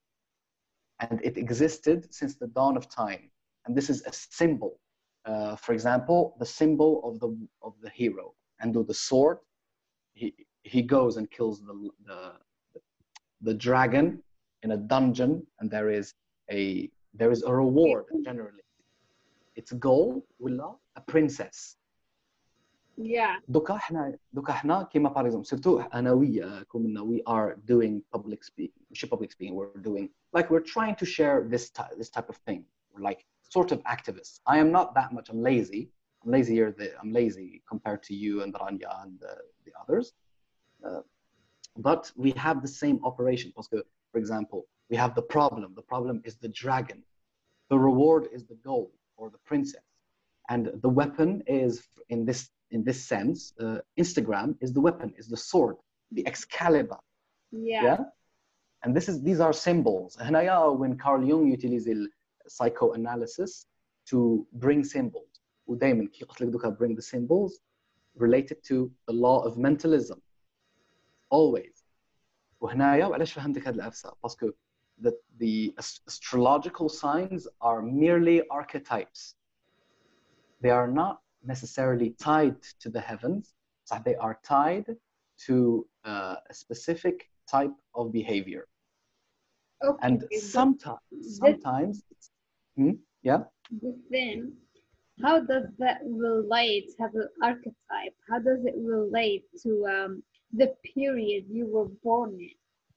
And it existed since the dawn of time. And this is a symbol. Uh, for example, the symbol of the of the hero. And with the sword, he he goes and kills the the the dragon in a dungeon, and there is a there is a reward generally. It's gold ولا a princess. Yeah. دوكا احنا دوكا احنا كيما باغ اكزومبل سيرتو انا ويا كومنا we are doing public speaking ماشي public speaking we're doing like we're trying to share this type this type of thing. We're like sort of activists. I am not that much. I'm lazy. I'm lazier than I'm lazy compared to you and Rania and the, the others. Uh, but we have the same operation. Because, for example, we have the problem. The problem is the dragon. The reward is the gold or the princess. And the weapon is, in this in this sense, uh, Instagram is the weapon, is the sword, the Excalibur. Yeah. Yeah. And this is these are symbols. هنايا when Carl Jung utilized psychoanalysis to bring symbols. ودائما كي قلت لك دوكا bring the symbols related to the law of mentalism. Always. وهنايا وعلاش فهمتك هذه العفسه؟ باسكو the the astrological signs are merely archetypes. They are not necessarily tied to the heavens. So they are tied to uh, a specific type of behavior. Okay. And sometimes, sometimes, hmm, yeah. But then, how does that relate? Have an archetype? How does it relate to um, the period you were born in?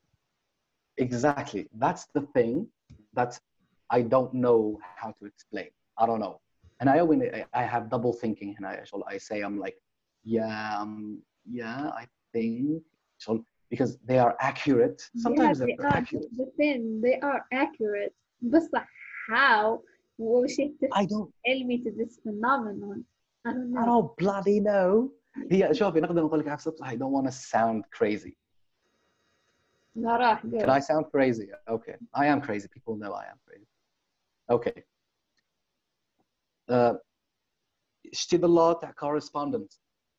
Exactly. That's the thing that I don't know how to explain. I don't know. And I when I have double thinking, and I I say I'm like, yeah, um, yeah, I think so because they are accurate. Sometimes yeah, they they're are. accurate. The thing, they are accurate. But how was it I don't. tell me to this phenomenon? I don't know. I don't bloody know. هي شوفي نقدر نقول لك عكس I don't want to sound crazy. لا راح. Can I sound crazy? Okay, I am crazy. People know I am crazy. Okay. Uh, شتي the law تاع correspondence.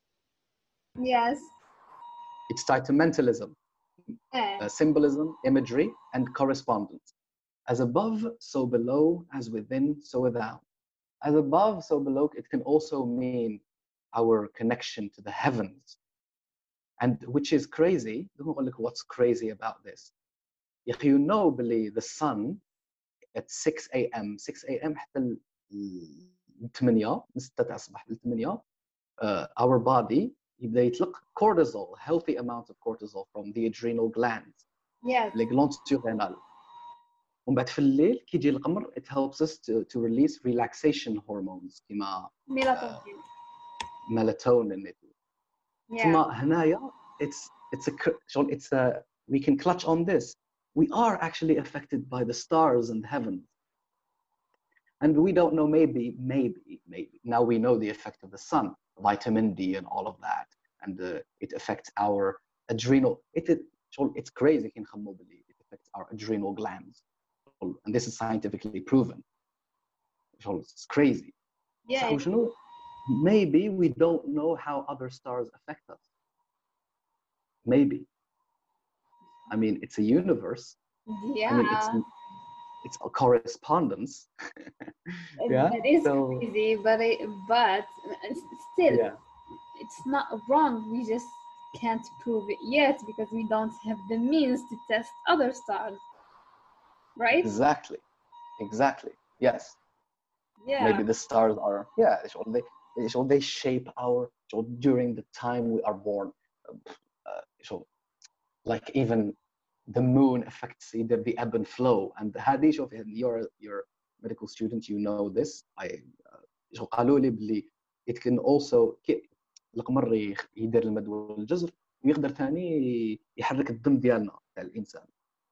Yes. It's tied to mentalism, Yeah. uh, symbolism, imagery, and correspondence. As above, so below, as within, so without. As above, so below, it can also mean our connection to the heavens. And which is crazy. What's crazy about this? You know, believe the sun at six a m six a m حتى ثمانية من ستة تاع الصباح ل ثمانية our body يبدا يطلق cortisol, healthy amount of cortisol from the adrenal glands. Yes. Les glandes surrénales. ومن بعد في الليل كي يجي القمر it helps us to, to release relaxation hormones كيما Melatonin. melatonin. Yeah. ثم هنايا it's it's a شغل it's a we can clutch on this. We are actually affected by the stars and heaven. And we don't know, maybe, maybe, maybe. Now we know the effect of the sun, vitamin D and all of that. And uh, it affects our adrenal, it, it, it's crazy, it affects our adrenal glands. And this is scientifically proven. It's crazy. Yeah. So, you know, maybe we don't know how other stars affect us. Maybe. I mean, it's a universe. Yeah. I mean, it's, it's a correspondence. Yeah. That is so, crazy, but it, but still, yeah. it's not wrong. We just can't prove it yet because we don't have the means to test other stars, right? Exactly. Exactly. Yes. Yeah. Maybe the stars are. Yeah. They so they shape our so during the time we are born. Uh, so, like even the moon affects either the ebb and flow. And هذه شوف you're you're a medical student, you know this. I uh, قالوا لي بلي it can also القمر يدير المد والجزر ويقدر ثاني يحرك الدم ديالنا تاع الانسان.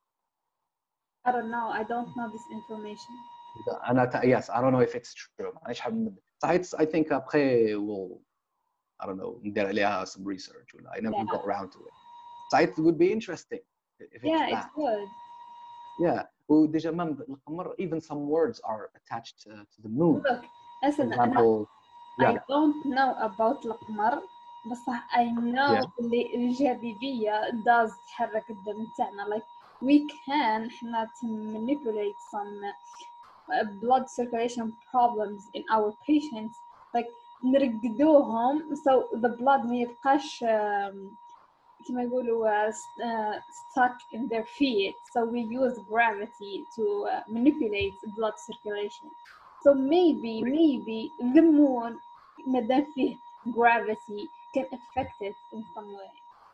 I don't know. I don't know this information. أنا yes, I don't know if it's true. معليش حاب I think après we'll I don't know ندير عليها some research ولا I never Yeah. got around to it. So it would be interesting if it's Yeah, it that. would. Yeah. وديجا même القمر even some words are attached to, to the moon. Look, For listen, أنا example, I yeah, don't know about القمر بس I know Yeah. اللي الجاذبية does تحرك الدم تاعنا. Like we can احنا to manipulate some uh, blood circulation problems in our patients. Like نرقدوهم so the blood ما يبقاش um, كما يقولوا uh, uh, stuck in their feet. So we use gravity to uh, manipulate blood circulation. So maybe maybe the moon مادام فيه gravity can affect it in some way.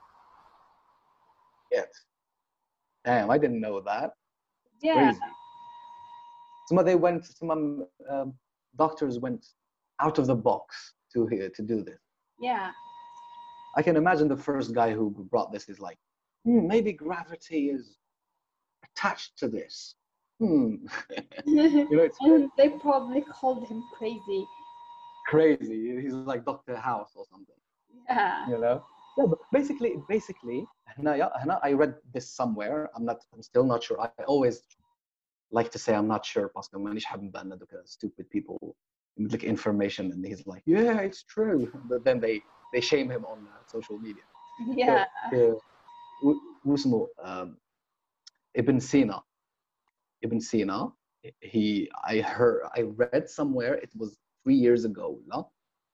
yes. Damn, I didn't know that. Yeah, Crazy. Some of they went, some um, doctors went out of the box to uh, to do this. yeah. I can imagine the first guy who brought this is like, hmm, maybe gravity is attached to this. Hmm. You know, it's And they probably called him crazy. crazy. He's like Doctor House or something. Yeah, You know? Yeah, but basically, basically, هنا, yeah, هنا, I read this somewhere. I'm not. I'm still not sure. I always like to say I'm not sure parce que مانيش حاب نبان دوك stupid people like information and he's like, yeah, it's true. But then they they shame him on uh, social media. yeah. Uh, واسمه um, Ibn Sina. Ibn Sina. He, I heard, I read somewhere. It was three years ago. لا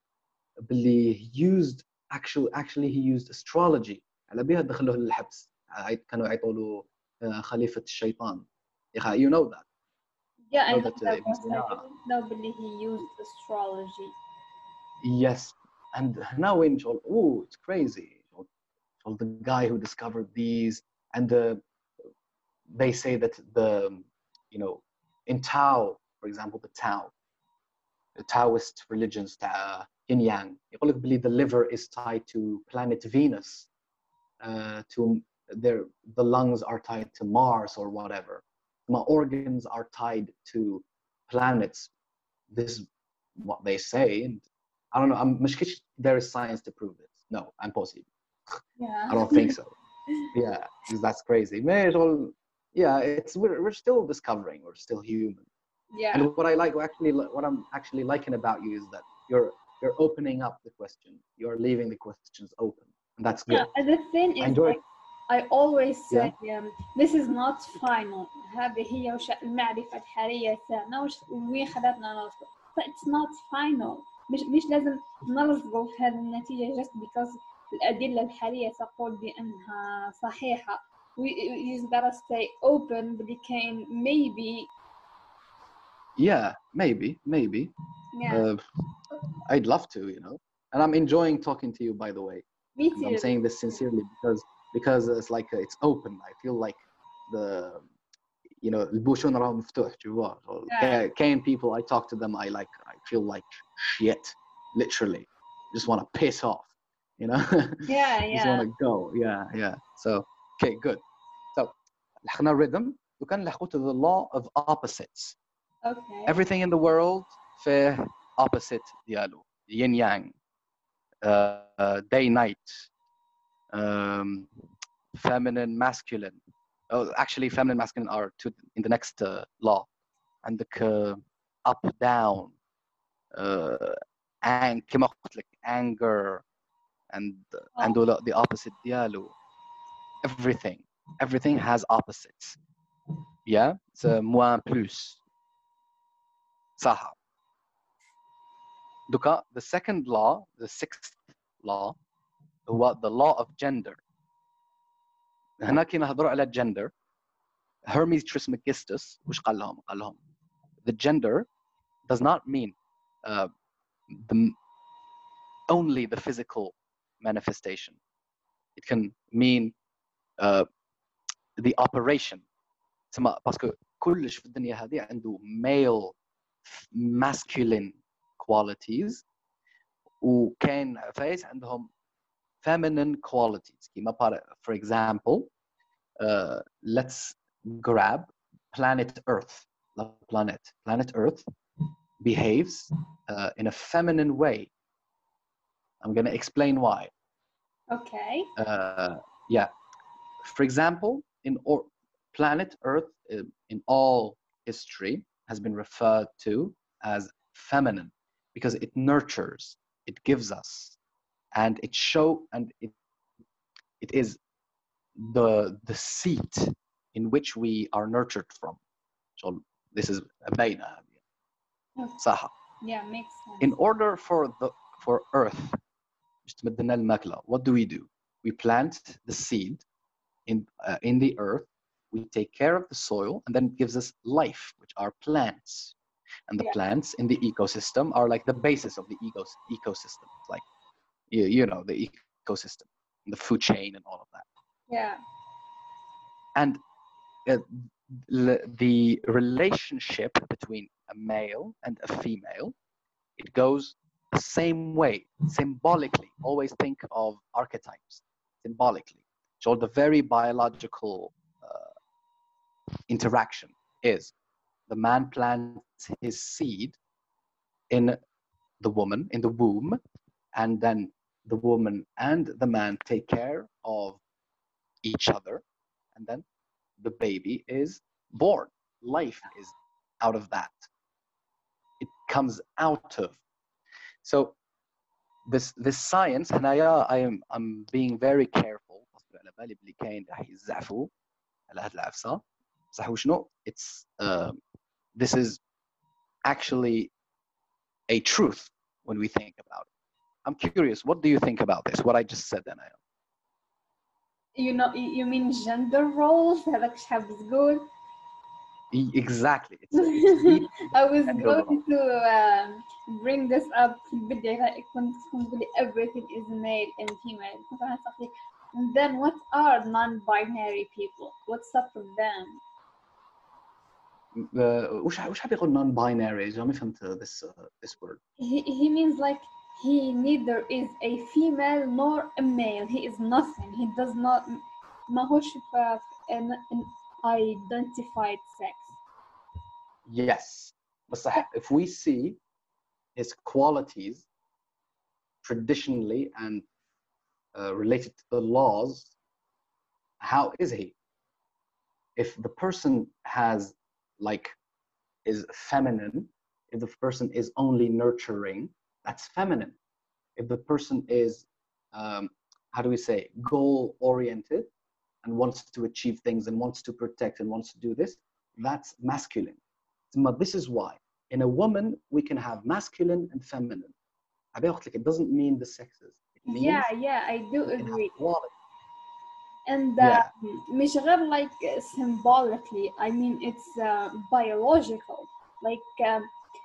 باللي he used actually actually he used astrology. على بها دخلوه للحبس. كانوا يعيطوا له خليفة الشيطان. You know that. Yeah, I know know that, uh, that, Ibn but I Sina. didn't know really he used astrology. Yes, and now in شغل, oh, it's crazy. شغل, the guy who discovered these, and the, they say that the, you know, in Tao, for example, the Tao, the Taoist religions, uh, Yin Yang, يقول لك بلي the liver is tied to planet Venus, uh, to their, the lungs are tied to Mars or whatever. My organs are tied to planets. This is what they say, and I don't know. I'm مشكلش there is science to prove this. No, impossible. Yeah. I don't think so. Yeah, because that's crazy. Man, all, yeah, it's we're we're still discovering. We're still human. Yeah. And what I like, actually, what I'm actually liking about you is that you're you're opening up the question. You're leaving the questions open, and that's good. Yeah, and the thing I is, enjoy. like, I always say, um, this is not final. هذه هي وش المعرفة الحالية تاعنا وش وين خذتنا نوصل. But it's not final. مش مش لازم نلصقوا في هذه النتيجة just because الأدلة الحالية تقول بأنها صحيحة. We you just gotta stay open, but it can maybe. Yeah, maybe, maybe. Yeah. Uh, I'd love to, you know. And I'm enjoying talking to you, by the way. Me And too. I'm saying this sincerely because because it's like uh, it's open. I feel like the, you know, البوشون راه مفتوح, tu vois. Yeah. Can people, I talk to them, I like, I feel like shit, literally. Just want to piss off, you know. Yeah, Just yeah. want to go. Yeah, yeah. So, okay, good. So, لحقنا rhythm. وكان لحقوا to the law of opposites. Okay. Everything in the world فيه opposite ديالو, yin yang, uh, uh, day night, um, feminine masculine. Oh, actually, feminine masculine are two in the next uh, law. And the uh, up down, uh, and كما قلت لك, anger, and Oh. and the opposite ديالو. Everything, everything has opposites. Yeah, it's uh, moins plus. صح. دوكا the second law, the sixth law, هو the law of gender. هنا كي نهضروا على gender, Hermes Trismegistus وش قال لهم؟ قال لهم the gender does not mean uh, the, only the physical manifestation. It can mean uh, the operation. تسمى باسكو كلش في الدنيا هذه عنده male masculine qualities وكان فايز عندهم feminine qualities. كيما for example, uh, let's grab planet Earth. The planet, planet Earth behaves uh, in a feminine way. I'm going to explain why. Okay. Uh, yeah. For example, in or planet Earth, uh, in all history, has been referred to as feminine because it nurtures, it gives us, and it show and it it is the the seat in which we are nurtured from. So this is باينة هذه. صح. Yeah, makes sense. In order for the for Earth باش تمد لنا الماكلة, what do we do? We plant the seed in uh, in the earth. We take care of the soil, and then it gives us life, which are plants. And the Yeah. plants in the ecosystem are like the basis of the ecos ecosystem, like you, you know, the ecosystem, the food chain, and all of that. Yeah. And uh, the relationship between a male and a female, it goes the same way, symbolically. Always think of archetypes symbolically. So the very biological uh, interaction is the man plants his seed in the woman, in the womb, and then the woman and the man take care of each other, and then the baby is born. Life is out of that. It comes out of. So this this science, and I I am I'm being very careful. على بالي بلي كاين راح يزعفوا على هاد العفسه. صح وشنو؟ It's uh, this is actually a truth when we think about it. I'm curious, what do you think about this? What I just said, then I You know, you mean gender roles? هذاك شحال بزقول. Exactly. It's, it's deep I was gender going role. to um, bring this up في البداية. كنت كنت بقولي everything is male and female. كنت أنا صحيح. And then what are non-binary people? What's up with them? Uh, وش وش حاب يقول non-binary؟ جا ما فهمت this uh, this word. He he means like he neither is a female nor a male. He is nothing. He does not ماهوش في an, an identified sex. Yes. But صح, if we see his qualities traditionally and uh, related to the laws, how is he? If the person has like is feminine, if the person is only nurturing, that's feminine. If the person is um, how do we say, goal oriented and wants to achieve things and wants to protect and wants to do this, that's masculine. But this is why in a woman we can have masculine and feminine. It doesn't mean the sexes. It means Yeah, yeah, I do you can have agree. quality. And uh, Yeah. مش غير like symbolically, I mean it's uh, biological, like um,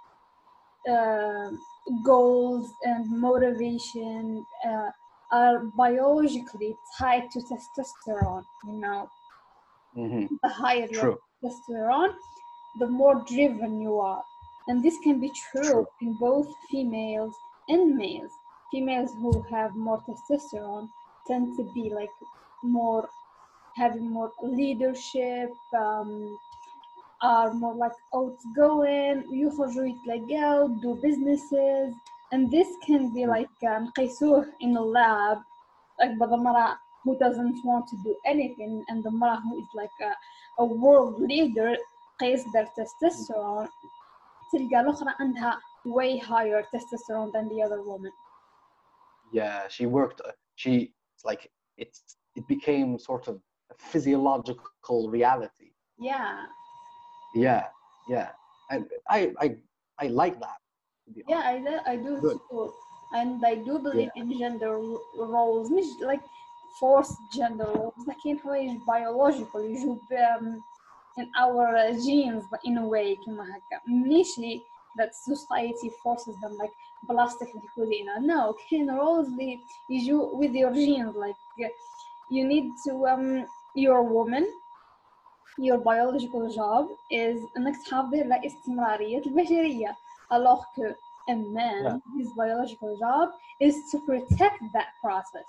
uh, goals and motivation uh, are biologically tied to testosterone. You know, Mhm. the higher your True. testosterone, the more driven you are. And this can be true, True. in both females and males. Females who have more testosterone tend to be like more having more leadership, um, are more like outgoing, يخرجوا يتلاقوا, do businesses, and this can be like um, نقيسوه in a lab, like by the مرأة who doesn't want to do anything, and the مرأة who is like a, a world leader قيس their testosterone, تلقى الأخرى عندها way higher testosterone than the other woman. Yeah, she worked. She like it's it became sort of a physiological reality. Yeah. Yeah, yeah, and I I I like that. To be Yeah, honest. I do, I do Good. too. And I do believe in gender ro- roles, مش like forced gender roles, لكن حوايج biological يجوا ب- in our uh, genes but in a way كما هكا. ماشي that society forces them like plastic لكلنا. No, كاين roles اللي يجوا with your genes, like you need to um you're a woman, your biological job is انك تحافظي على استمرارية البشرية, alors que a man, Yeah. his biological job is to protect that process.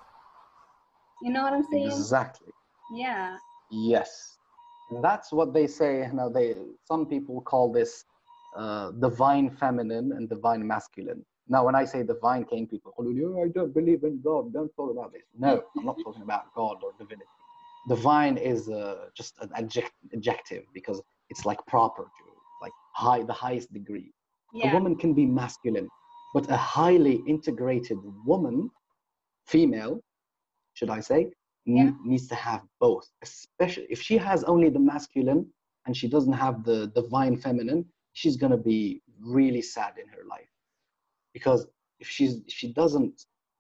You know what I'm saying? Exactly. Yeah. Yes, that's what they say. Now they some people call this uh, divine feminine and divine masculine. Now, when I say divine came, people call you, I don't believe in God, don't talk about this. No, I'm not talking about God or divinity. Divine is uh, just an adject- adjective because it's like proper to, like high, the highest degree. Yeah. A woman can be masculine, but a highly integrated woman, female, should I say, Yeah. n- needs to have both. Especially if she has only the masculine and she doesn't have the divine feminine, she's gonna be really sad in her life. Because if she's if she doesn't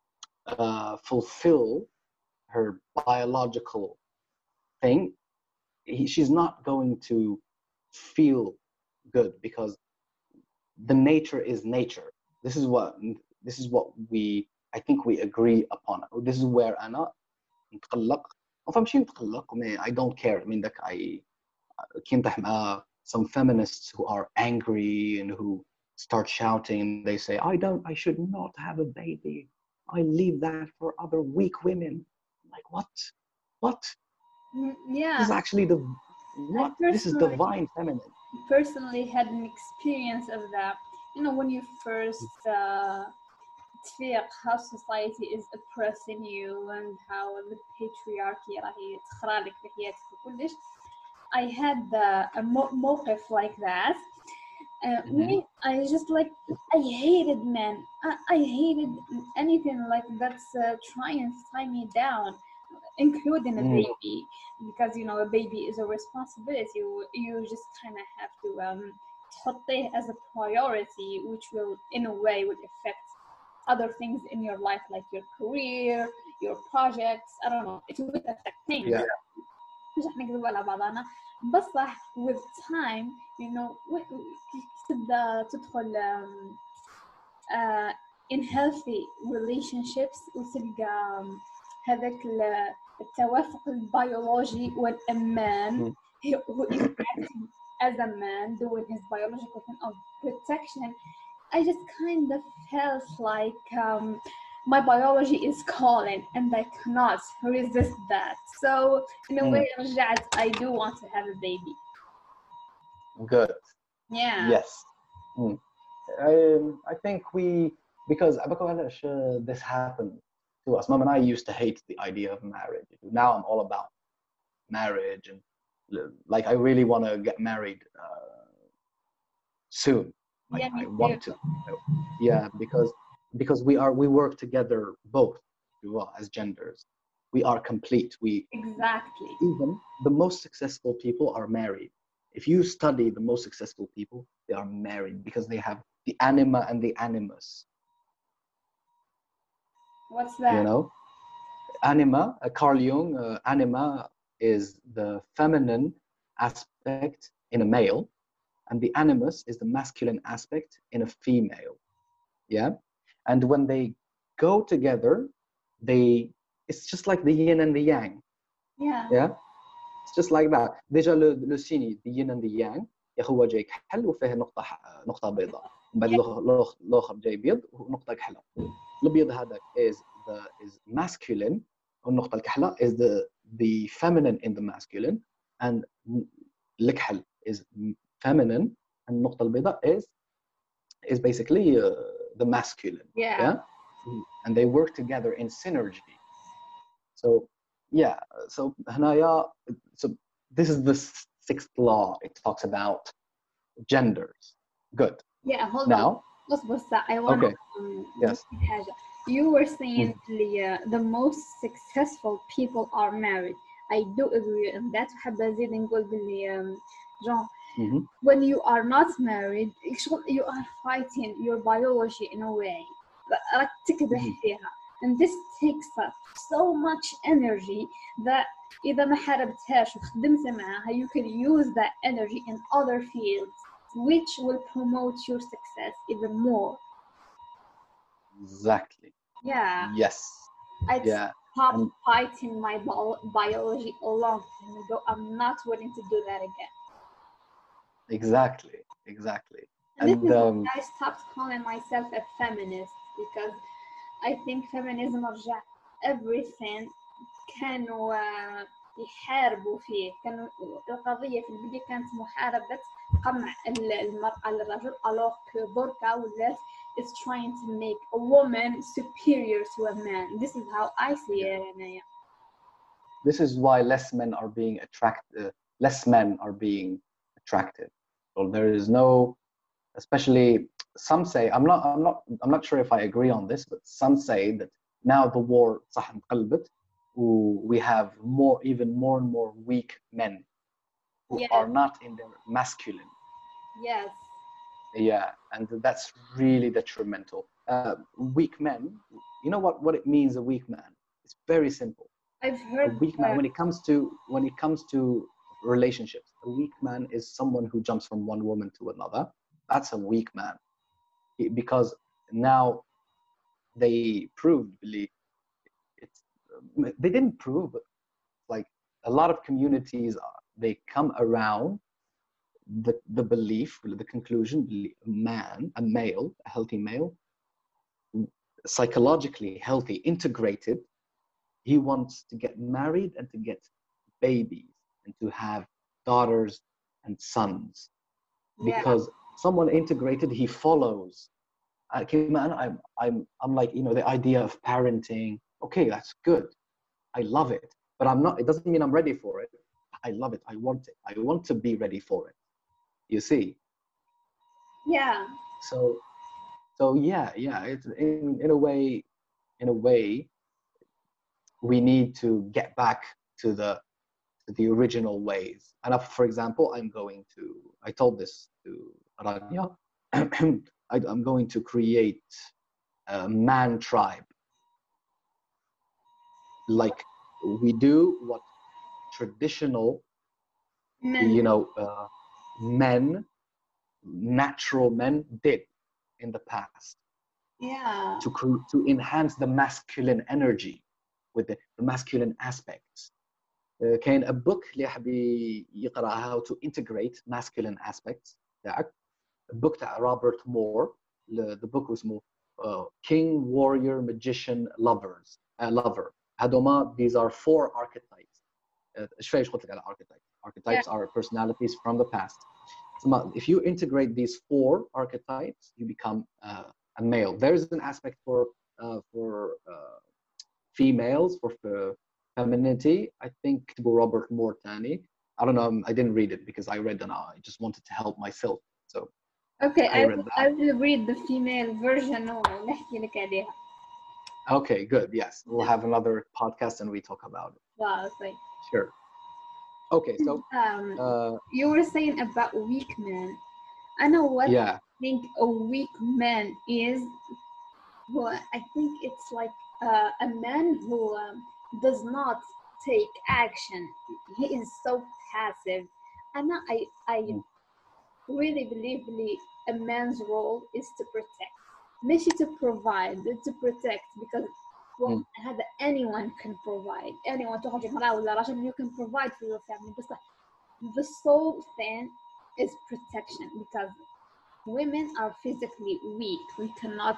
uh, fulfill her biological thing, he, she's not going to feel good because the nature is nature. This is what this is what we I think we agree upon. This is where أنا نتقلق. ما فهمش نتقلق. I don't care. I mean, like I كنت مع some feminists who are angry and who start shouting and they say, I don't, I should not have a baby. I leave that for other weak women. I'm like, what? What? Mm, This Yeah. is actually the, what? This is personally- divine feminine. personally had an experience of that. You know, when you first uh, تفيق how society is oppressing you and how the patriarchy راهي تخرالك في حياتك وكلش. I had uh, a mo- موقف like that. Uh, Mhm. me, I just like I hated men. I, I hated anything like that's uh, trying to tie me down, including a Mm. baby, because you know a baby is a responsibility. You, you just kind of have to um, تحطيه as a priority, which will in a way would affect other things in your life, like your career, your projects. I don't know. It would affect things. Yeah. مش رح نكذب على بعضنا بصح with time you know و- و- تبدا تدخل um, uh, in healthy relationships وتلقى um, هذاك ال- التوافق البيولوجي when a man Mm. who is acting as a man doing his biological thing of protection. I just kind of felt like um, my biology is calling and I cannot resist that. So in a Mm. way, رجعت, I do want to have a baby. Good. Yeah. Yes. Mm. Um, I think we, because uh, this happened to us. Mom and I used to hate the idea of marriage. Now I'm all about marriage and like I really want to get married uh, soon. Like Yeah, me I want to. Yeah, because because we are we work together both well, as genders. We are complete. We Exactly. even the most successful people are married. If you study the most successful people, they are married because they have the anima and the animus. What's that? You know, anima. Uh, Carl Jung. Uh, anima is the feminine aspect in a male, and the animus is the masculine aspect in a female. Yeah, and when they go together, they it's just like the yin and the yang. Yeah. Yeah, it's just like that. Déjà le le signe the yin and the yang يا هو جاي كحل وفيه نقطة ح- نقطة بيضاء. بعد الآخر الآخر جاي بيض ونقطة كحلة. الأبيض هذا is the is masculine والنقطة الكحلة is the the feminine in the masculine and الكحل is feminine and النقطة البيضاء is is basically uh, the masculine. Yeah. Yeah, and they work together in synergy. So yeah, so هنايا so this is the sixth law. It talks about genders. Good. Yeah, hold Now, on. اصبر ساعة. I want Okay. to um, Yes. نحكي حاجة. You were saying the, uh, the most successful people are married. I do agree on that. وحابة أزيد نقول باللي um, genre mhm, when you are not married شغل you are fighting your biology in a way راك تكدح Mhm. فيها and this takes up so much energy that إذا ما حاربتهاش وخدمت معاها you can use that energy in other fields which will promote your success even more. exactly. Yeah, Yes. I'd Yeah. stop and- fighting my bio- biology a long time ago. I'm not willing to do that again. Exactly. Exactly. And, this And is um, why I stopped calling myself a feminist because I think feminism رجع everything كانوا آه، يحاربوا فيه. كانوا القضية في البداية كانت محاربة قمع ال- المرأة للرجل alors que دركا ولات is trying to make a woman superior to a man. This is how I see Yeah. it, Anaya. This is why less men are being attracted. Uh, less men are being attracted. So there is no, especially some say. I'm not. I'm not. I'm not sure if I agree on this, but some say that now the war صح انقلبت, we have more, even more and more weak men who Yes, are not in their masculine. yes. Yeah, and that's really detrimental. Uh, weak men. You know what? What it means, a weak man. It's very simple. I've A heard weak man, uh, when it comes to when it comes to relationships, a weak man is someone who jumps from one woman to another. That's a weak man. It- because now they proved, believe it's they didn't prove, but like a lot of communities are, they come around the the belief, the conclusion, a man, a male, a healthy male, psychologically healthy, integrated, he wants to get married and to get babies and to have daughters and sons, yeah, because someone integrated, he follows. Uh, man, I'm, I'm, I'm like, you know, the idea of parenting. Okay, that's good. I love it, but I'm not. It doesn't mean I'm ready for it. I love it. I want it. I want to be ready for it. You see. yeah, So, so yeah, yeah. It's in in a way, in a way, we need to get back to the to the original ways. And if, for example, I'm going to. I told this to Rania. I, I'm going to create a man tribe, like we do what traditional, men, you know, uh, men, natural men did in the past yeah, to cre- to enhance the masculine energy with the, the masculine aspects. Uh, كاين a book اللي يحب يقرأ how to integrate masculine aspects تاعك. A book تاع Robert Moore. The book اسمه uh, King, Warrior, Magician, Lovers. Uh, lover. هذوما, these are four archetypes. ايش فايش قلت لك على archetypes. yeah, Archetypes are personalities from the past. So if you integrate these four archetypes, you become uh, a male. There's an aspect for uh, for uh, females, for uh, femininity. I think Robert Moore Tani. I don't know. I didn't read it because I read it now. I just wanted to help myself. So okay, I I read will, that. I will read the female version ونحكي لك عليها. Okay, good. Yes, we'll have another podcast and we talk about it. Wow, like, Sure. Okay, so um, uh, you were saying about weak men. I know what yeah, I think a weak man is. Well, I think it's like uh, a man who um, does not take action. He is so passive. And I, I Mm. really believe really a man's role is to protect. ماشي to provide, to protect, because well, Mm. هذا anyone can provide. Anyone تخرج امرأة ولا رجل, you can provide for your family. بس the sole thing is protection, because women are physically weak. We cannot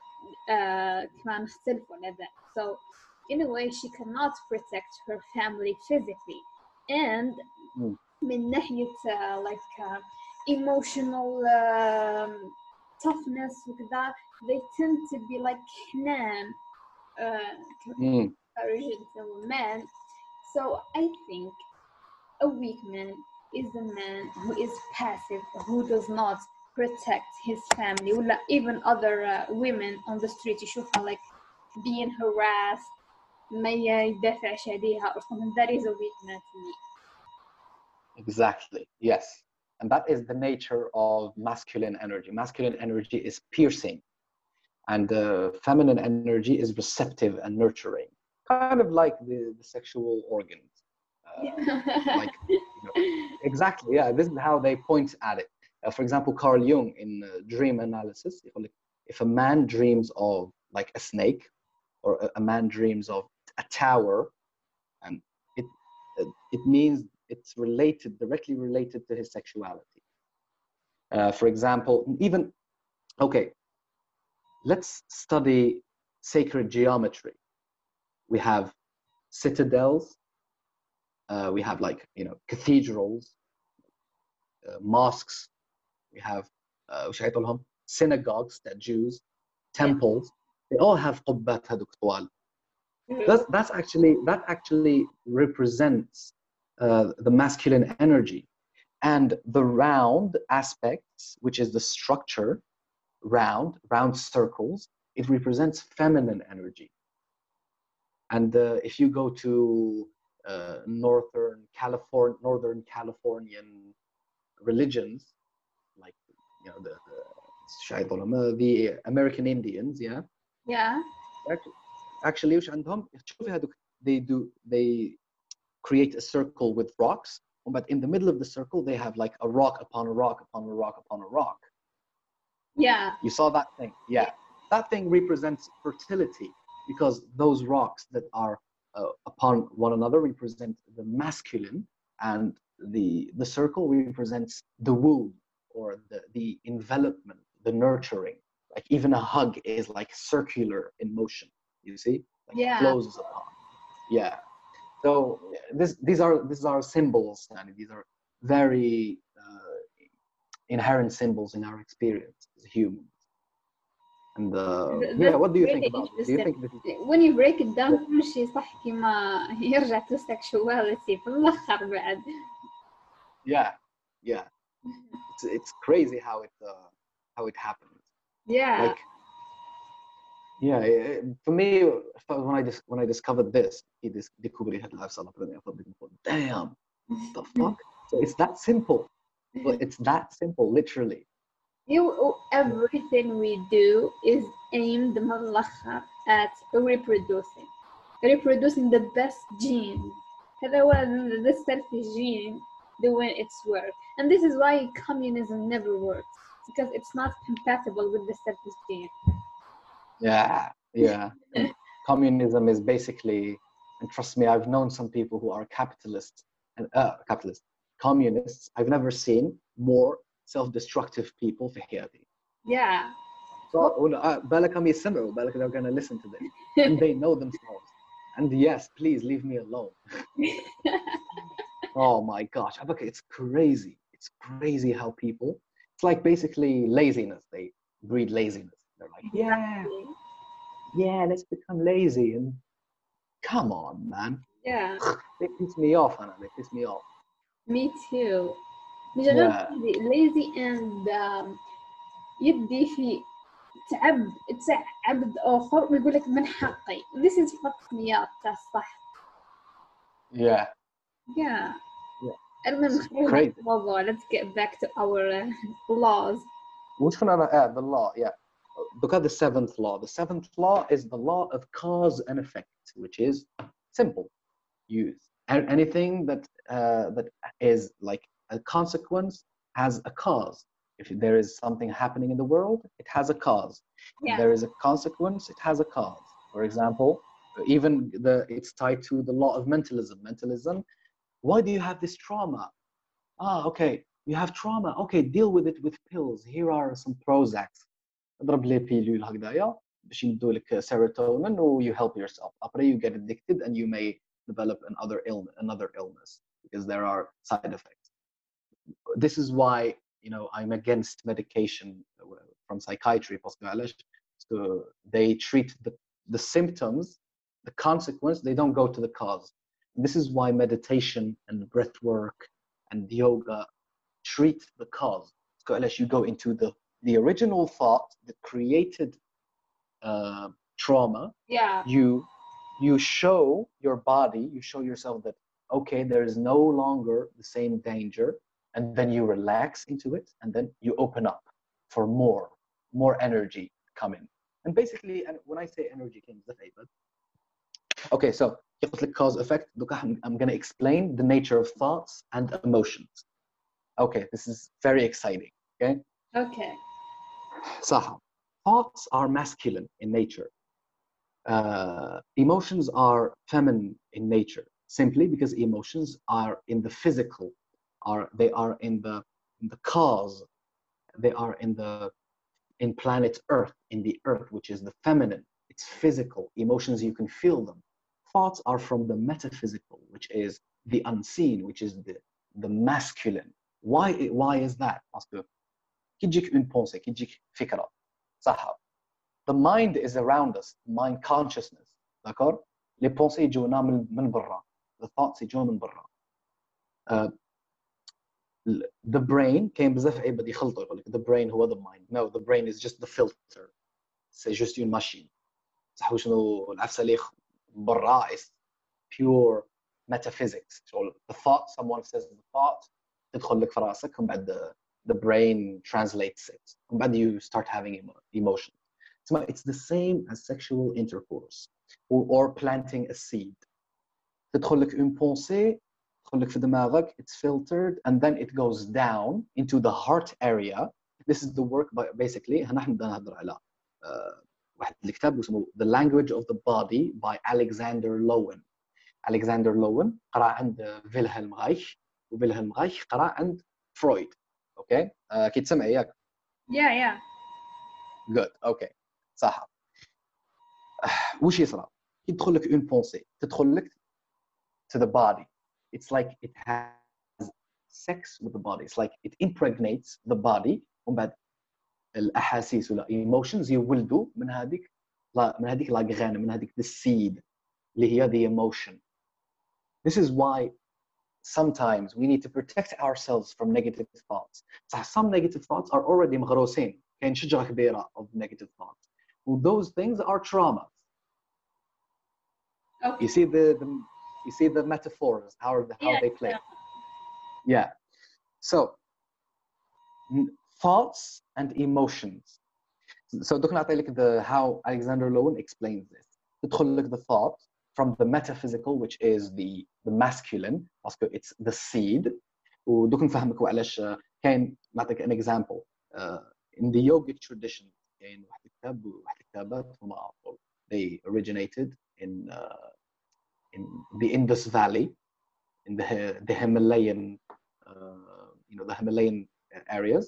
uh, كمان نختلف على that. So in a way she cannot protect her family physically, and Mm. من ناحية uh, like uh, emotional um, toughness وكذا, they tend to be like حنان uh, Mm. comparison to a man. So I think a weak man is a man who is passive, who does not protect his family, or even other uh, women on the street يشوفها like being harassed, ما يدافعش عليها or something. That is a weak man to me. Exactly. Yes. And that is the nature of masculine energy. Masculine energy is piercing, and the feminine energy is receptive and nurturing, kind of like the, the sexual organs. Uh, like, you know, exactly. Yeah. This is how they point at it. Uh, for example, Carl Jung in uh, dream analysis, if a man dreams of like a snake, or a, a man dreams of a tower, and it it means it's related, directly related to his sexuality. Uh, for example, even, okay, let's study sacred geometry. We have citadels, uh, we have like, you know, cathedrals, uh, mosques, we have uh, synagogues that Jews, temples, they all have قبات هذوك طوال. That's, that's actually, that actually represents uh, the masculine energy. And the round aspects, which is the structure, round, round circles, it represents feminine energy. And uh, if you go to uh, northern California, northern Californian religions, like, you know, the, the, the American Indians, yeah? Yeah. Actually, actually وش عندهم شوفي هذوك they do they create a circle with rocks, but in the middle of the circle they have like a rock upon a rock upon a rock upon a rock. Yeah. You saw that thing? Yeah. That thing represents fertility, because those rocks that are uh, upon one another represent the masculine, and the the circle represents the womb, or the the envelopment, the nurturing. Like even a hug is like circular in motion, you see, like Yeah. flows upon. Yeah. So this these are these are symbols, and these are very uh, inherent symbols in our experience as humans. And uh, yeah, what do you think about this? Do you think this is... when you break it down كل شيء صح كما يرجع to sexuality في الآخر بعد. Yeah, yeah. It's it's crazy how it uh, how it happens. Yeah. Like, yeah, it, for me, when I just when I discovered this, it is damn, the fuck. So it's that simple. Well, it's that simple, literally. You, everything we do is aimed ملخر at reproducing, reproducing the best gene. هذا هو the selfish gene doing its work, and this is why communism never works, because it's not compatible with the selfish gene. Yeah, yeah. Communism is basically, and trust me, I've known some people who are capitalists and uh, capitalists, communists. I've never seen more self-destructive people في حياتي. Yeah. So, بالك هم يسمعوا, بالك they're gonna listen to this, and they know themselves. And yes, please leave me alone. Oh my gosh, it's crazy. It's crazy how people, it's like basically laziness. They breed laziness. They're like, yeah, yeah, let's become lazy. And come on, man. Yeah. They piss me off, Anna. They piss me off. Me too. Yeah. Lazy and um, يدي في تعب تعب آخر ويقول لك من حقي. This is fucked me up. That's صح. Yeah. Yeah. Yeah. المهم Crazy. Let's get back to our uh, laws. Which one are uh, the law? Yeah. Look at the seventh law. The seventh law is the law of cause and effect, which is simple. Use anything that uh, that is like a consequence has a cause. If there is something happening in the world, it has a cause. Yeah. If there is a consequence, it has a cause. For example, even the it's tied to the law of mentalism. Mentalism. Why do you have this trauma? Ah, okay. You have trauma. Okay, deal with it with pills. Here are some Prozacs. اضرب لي بيلول هكذايا باش يمدوا لك serotonin or you help yourself. Après you get addicted and you may develop another illness, another illness because there are side effects. This is why, you know, I'm against medication from psychiatry. So they treat the, the symptoms, the consequence, they don't go to the cause. And this is why meditation and breath work and yoga treat the cause. So unless you go into the the original thought that created uh, trauma, yeah. you you show your body, you show yourself that, okay, there is no longer the same danger, and then you relax into it, and then you open up for more, more energy coming. And basically, and when I say energy came the favor. Okay, so cause effect, I'm going to explain the nature of thoughts and emotions. Okay, this is very exciting. Okay. Okay. Saha. Thoughts are masculine in nature. Uh, emotions are feminine in nature, simply because emotions are in the physical, are they are in the in the cause, they are in the in planet Earth, in the Earth, which is the feminine. It's physical. Emotions, you can feel them. Thoughts are from the metaphysical, which is the unseen, which is the the masculine. Why why is that, Oscar? كي تجيك une pensée كي تجيك فكرة صح. the mind is around us, mind consciousness, d'accord. les pensées يجونا من من برا, the thoughts يجون من برا. uh, the brain كاين بزاف عباد يخلطوا يقول لك the brain هو the mind. no, the brain is just the filter, c'est juste une machine. صح وشنو العفسه اللي برا is pure metaphysics. So the thought, someone says the thought تدخل لك في راسك ومن بعد the, the brain translates it ومن بعد you start having emotion. So it's the same as sexual intercourse or, or planting a seed. تدخل لك une pensée تدخل لك في دماغك, it's filtered and then it goes down into the heart area. This is the work by basically هنا احنا بدنا نهضر على uh, واحد الكتاب اسمه The Language of the Body by Alexander Lowen. Alexander Lowen قرأ عند فيلهلم رايخ وفيلهلم رايخ قرأ عند فرويد. اوكي uh, كي تسمعي ياك؟ yeah yeah good اوكي صح. وش يصرى كي تدخل لك une pensée تدخل لك to the body, it's like it has sex with the body, it's like it impregnates the body ومن بعد الاحاسيس ولا emotions يولدوا من هذيك لا من هذيك لا غران من هذيك the seed اللي هي the emotion. This is why sometimes we need to protect ourselves from negative thoughts. صح some negative thoughts are already مغروسين, كاين شجرة كبيرة of negative thoughts. Well, those things are traumas. okay. You see the, the you see the metaphors, how how yeah, they play. yeah. Yeah. So thoughts and emotions. So دوك نعطي لك the how Alexander Lowen explains this. تدخل لك the thought from the metaphysical, which is the the masculine, because it's the seed. ودوك نفهمك وعلاش كاين نعطيك an example. Uh, in the yogic tradition كاين واحد الكتاب واحد الكتابات هما they originated in uh, in the Indus Valley, in the the Himalayan uh, you know the Himalayan areas.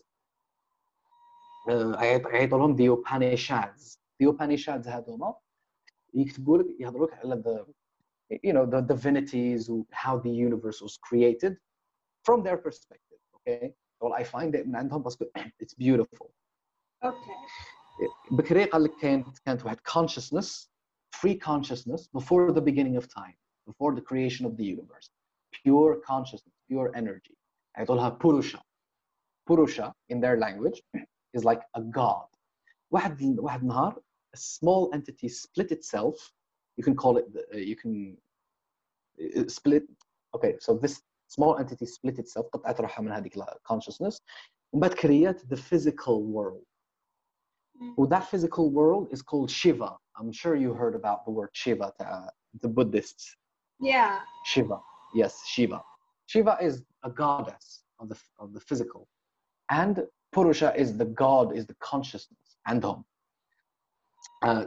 يعيطوا لهم the Upanishads. The Upanishads هذوما يكتبوا لك يهضروا لك على the you know the divinities, how the universe was created from their perspective. Okay, well I find it من عندهم باسكو it's beautiful. okay بكري قال لك كانت كانت واحد consciousness, free consciousness before the beginning of time, before the creation of the universe, pure consciousness, pure energy. يعيطوا لها Purusha. Purusha in their language is like a god. واحد واحد نهار a small entity split itself. You can call it uh, you can uh, split. Okay, so this small entity split itself قطعت روحها من هذيك consciousness ومن بعد create the physical world. mm. Well, that physical world is called Shiva. I'm sure you heard about the word Shiva, uh, the Buddhists. yeah Shiva, yes, Shiva. Shiva is a goddess of the of the physical, and Purusha is the god, is the consciousness. عندهم. Uh,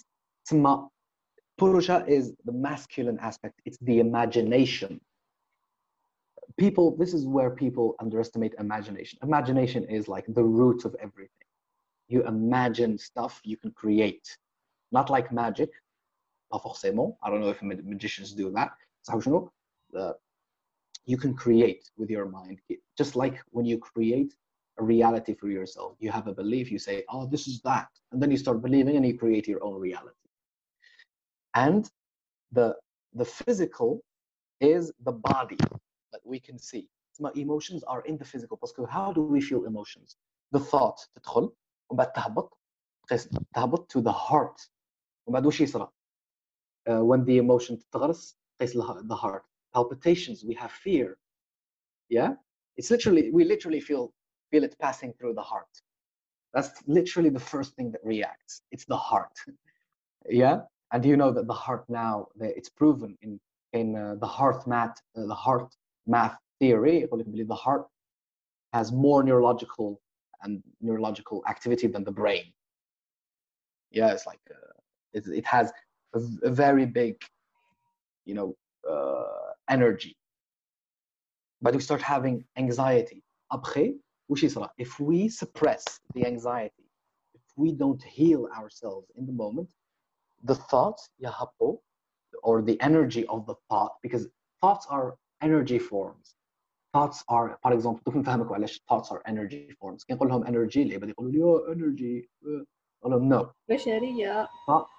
Purusha is the masculine aspect. It's the imagination. People, this is where people underestimate imagination. Imagination is like the root of everything. You imagine stuff you can create. Not like magic. Pas forcément. I don't know if magicians do that. Uh, you can create with your mind. Just like when you create a reality for yourself. You have a belief, you say, oh, this is that. And then you start believing and you create your own reality. And the, the physical is the body that we can see. My emotions are in the physical. Because how do we feel emotions? The thought تدخل وبعد تهبط تهبط to the heart. وبعد وش يصير؟ Uh, when the emotion تتغرس قيس the heart. Palpitations, we have fear. Yeah? It's literally, we literally feel feel it passing through the heart. That's literally the first thing that reacts. It's the heart. Yeah? And you know that the heart now, it's proven in in uh, the heart math, uh, the heart math theory, the heart has more neurological and neurological activity than the brain. Yeah, it's like uh, it, it has a, a very big, you know, uh, energy. But we start having anxiety. Après, وش يصير? If we suppress the anxiety, if we don't heal ourselves in the moment, the thoughts يهبطوا, or the energy of the thought, because thoughts are energy forms. thoughts are, for example, تكون فاهمك وعلاش thoughts are energy forms. كي نقول لهم energy اللي بدي يقولوا لي oh energy أقول لهم no. بشرية.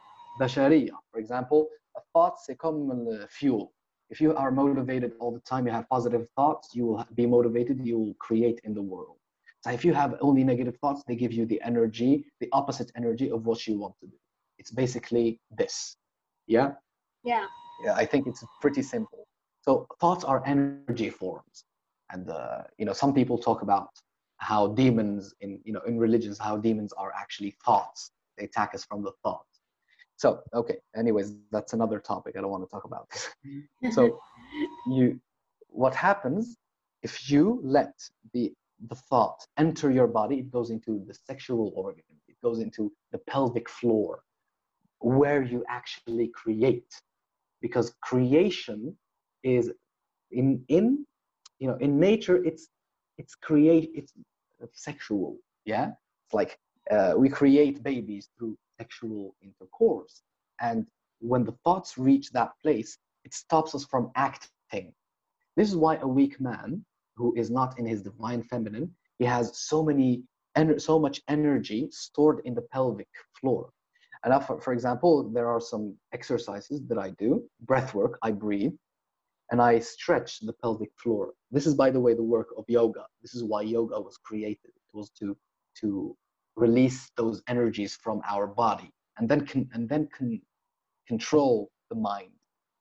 بشرية. For example, a thought c'est comme le fuel. If you are motivated all the time, you have positive thoughts, you will be motivated, you will create in the world. So if you have only negative thoughts, they give you the energy, the opposite energy of what you want to do. It's basically this. Yeah? Yeah. Yeah, I think it's pretty simple. So thoughts are energy forms. And, uh, you know, some people talk about how demons in, you know, in religions, how demons are actually thoughts. They attack us from the thoughts. So, okay, anyways, that's another topic. I don't want to talk about this. So you, what happens if you let the, the thought enter your body, it goes into the sexual organ, it goes into the pelvic floor, where you actually create. Because creation is in, in, you know, in nature, it's, it's create, it's sexual, yeah? It's like uh, we create babies through sexual intercourse. And when the thoughts reach that place, it stops us from acting. This is why a weak man who is not in his divine feminine, he has so many, so much energy stored in the pelvic floor. And for, for example, there are some exercises that I do, breath work, I breathe, and I stretch the pelvic floor. This is, by the way, the work of yoga. This is why yoga was created. It was to, to release those energies from our body and then, can, and then can control the mind.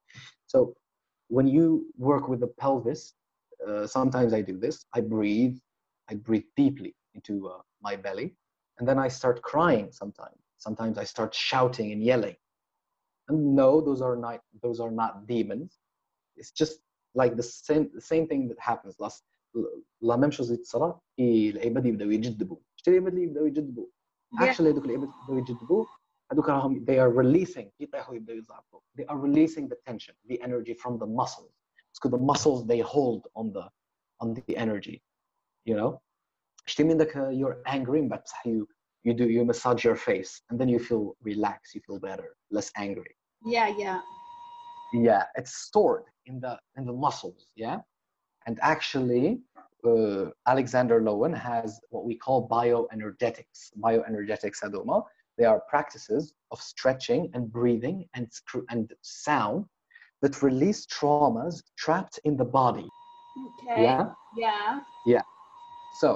So when you work with the pelvis, uh, sometimes I do this, I breathe, I breathe deeply into uh, my belly, and then I start crying sometimes. Sometimes I start shouting and yelling. And no, those are not, those are not demons. It's just like the same, the same thing that happens. Last, la même chose اللي تصرى هي العباد يبداو يجذبوا. شتي العباد اللي يبداو يجذبوا. Actually هذوك العباد يبداو يجذبوا هذوك راهم they are releasing يطيحوا يبداو يزعفوا. They are releasing the tension, the energy from the muscles. Because the muscles they hold on the on the energy, you know. شتي من ذاك you're angry but بصح you you do you massage your face and then you feel relaxed, you feel better, less angry. Yeah, yeah. Yeah, it's stored in the in the muscles, yeah. And actually, uh, Alexander Lowen has what we call bioenergetics. Bioenergetics, Adoma. They are practices of stretching and breathing and and sound that release traumas trapped in the body. Okay. Yeah. Yeah. Yeah. So